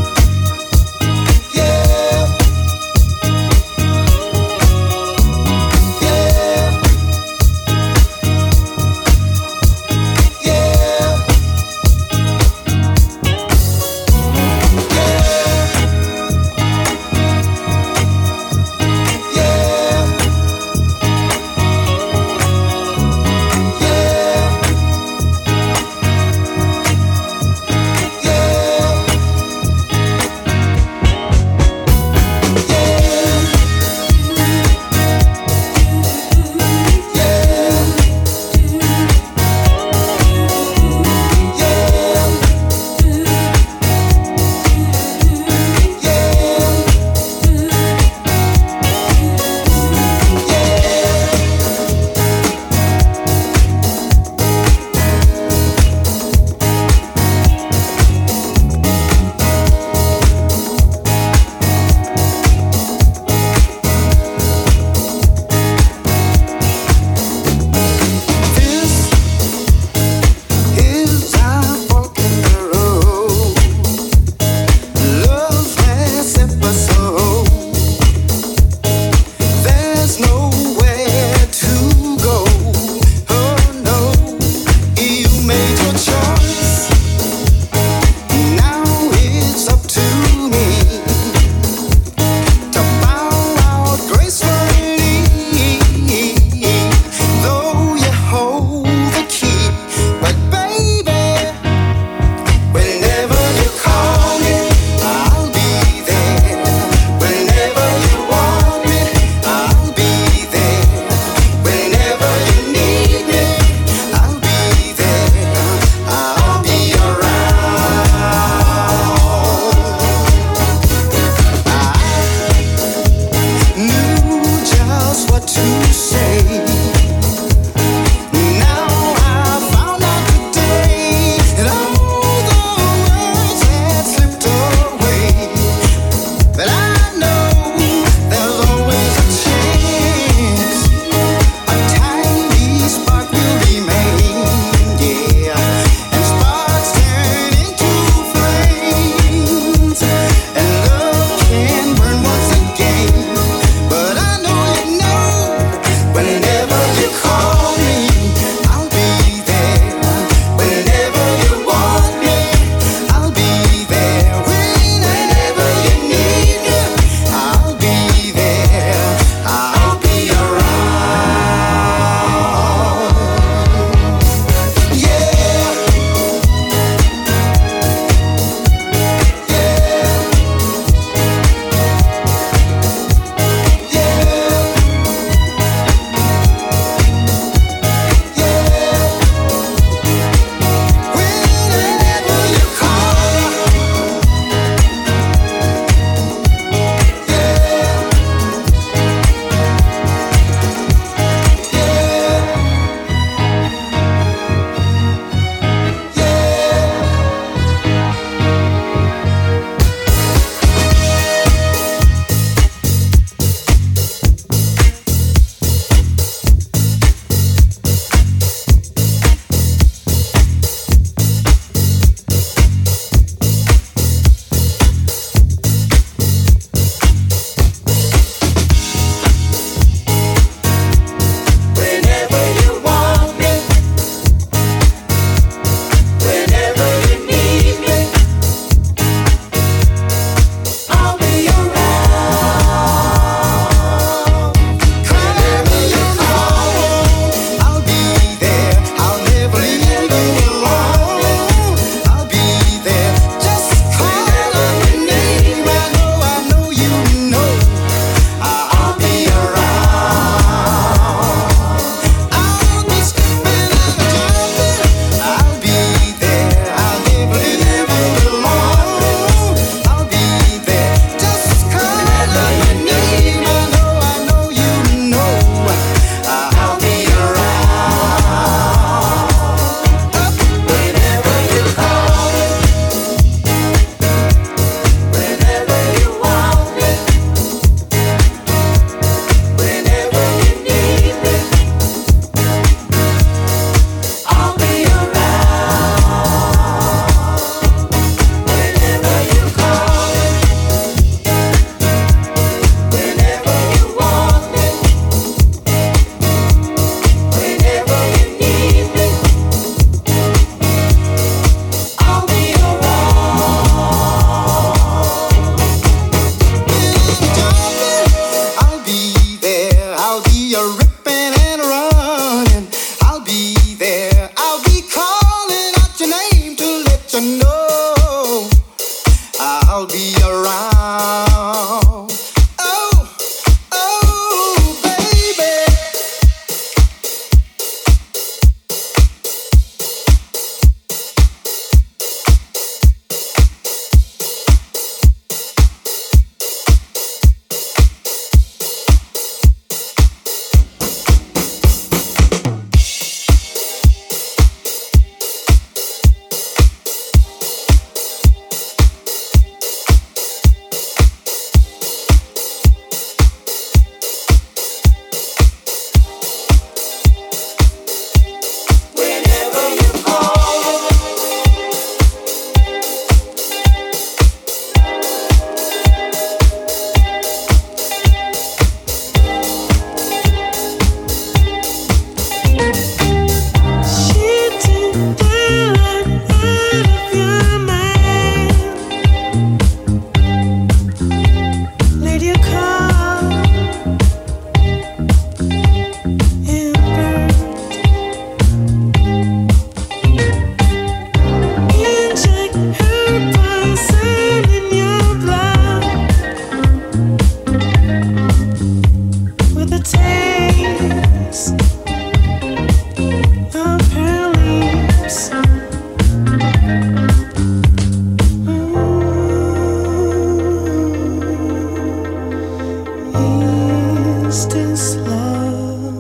Is this love?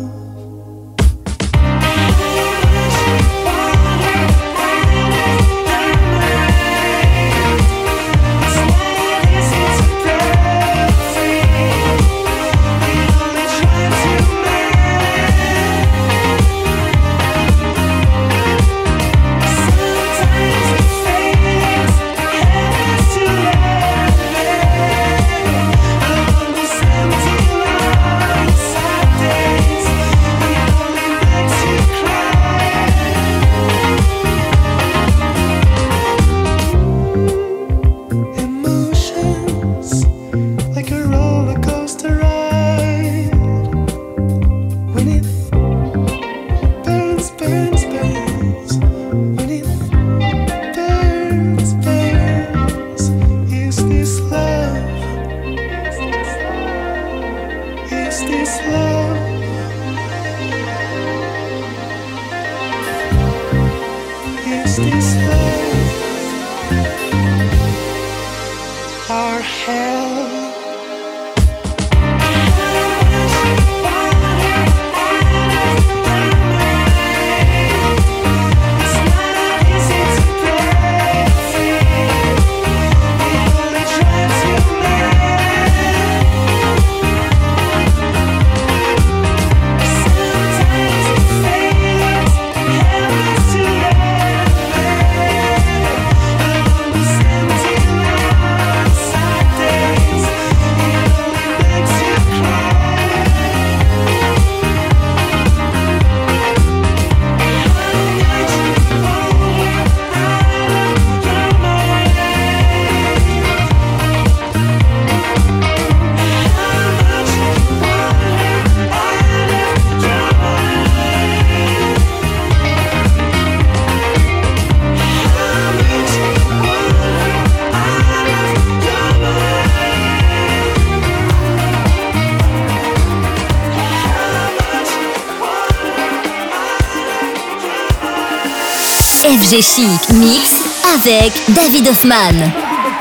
F G Chic Mix avec David Hoffman.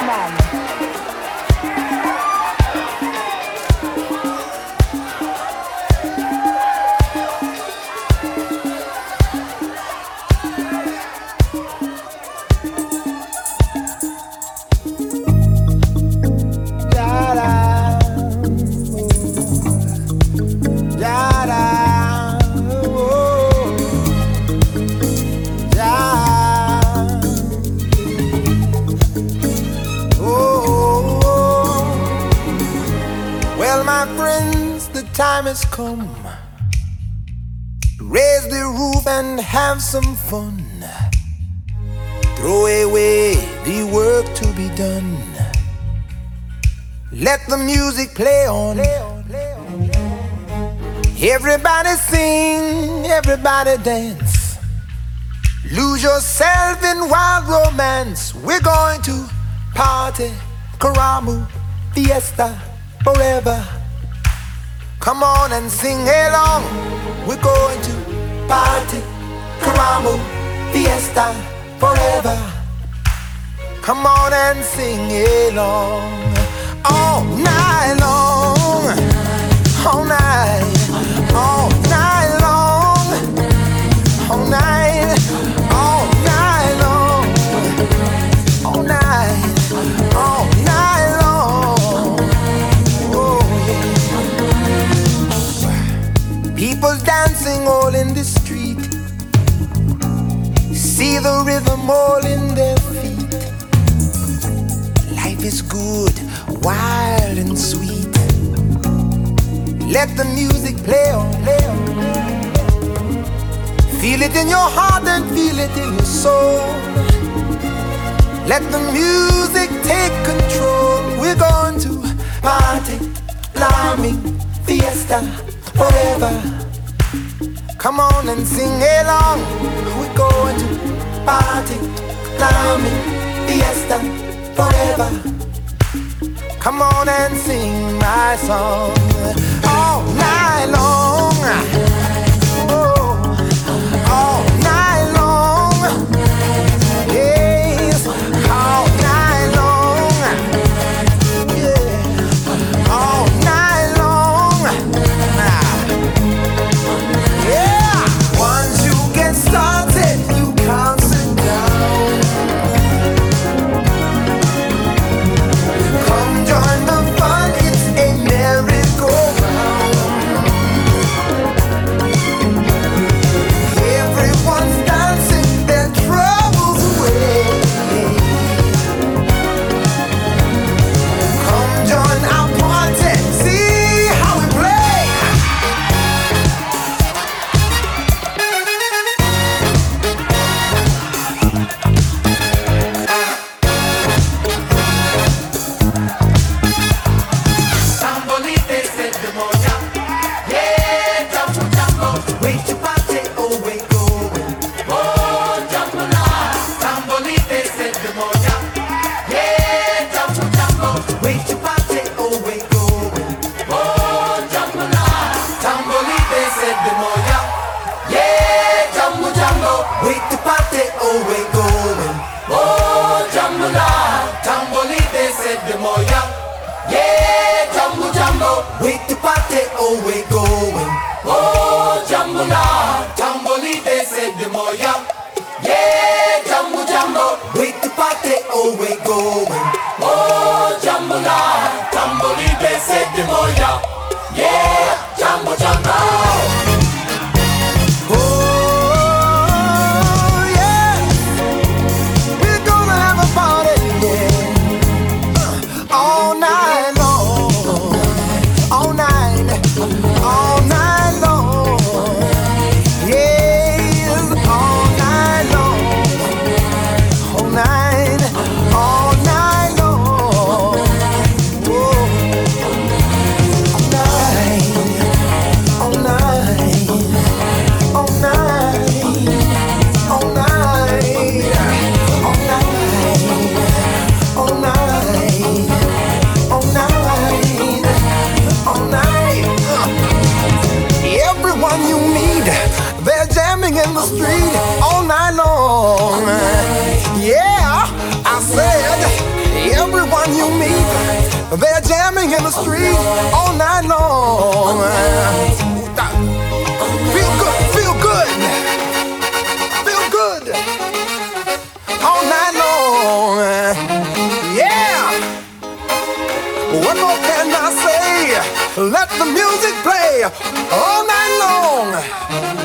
Has come. Raise the roof and have some fun. Throw away the work to be done. Let the music play on. Everybody sing, everybody dance. Lose yourself in wild romance. We're going to party, Karamu, fiesta, forever. Come on and sing along. We're going to party, Karamu, fiesta, forever. Come on and sing along. All night long, all night, all night long, all night, all night long, all night, all night long. Oh yeah. People dancing all in the street. See the rhythm all in their feet. Life is good, wild and sweet. Let the music play on, play on. Feel it in your heart and feel it in your soul. Let the music take control. We're going to party, climbing, fiesta, forever. Come on and sing along. We're going to party, climbing, fiesta, forever. Come on and sing my song all night long. Oh, all night long. Yes, all night long. Yeah, all night long. with the party, oh we're going. Oh, Jambula, Tamboli, they said the moya. Yeah, Jambu Jambo, with the party, oh we're going. Oh, Jambula, Tamboli, they said the moya. Yeah, Jambu Jambo, with the party, oh we're going. Oh, Jambula, Tamboli, they said the moya. Yeah, Jambu Jambo. In the street all night long. Yeah, I said everyone you meet, they're jamming in the street all night long. Feel good, feel good, feel good all night long. Yeah. What more can I say? Let the music play all night long.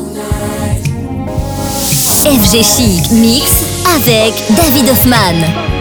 F G Chic Mix avec David Hoffman.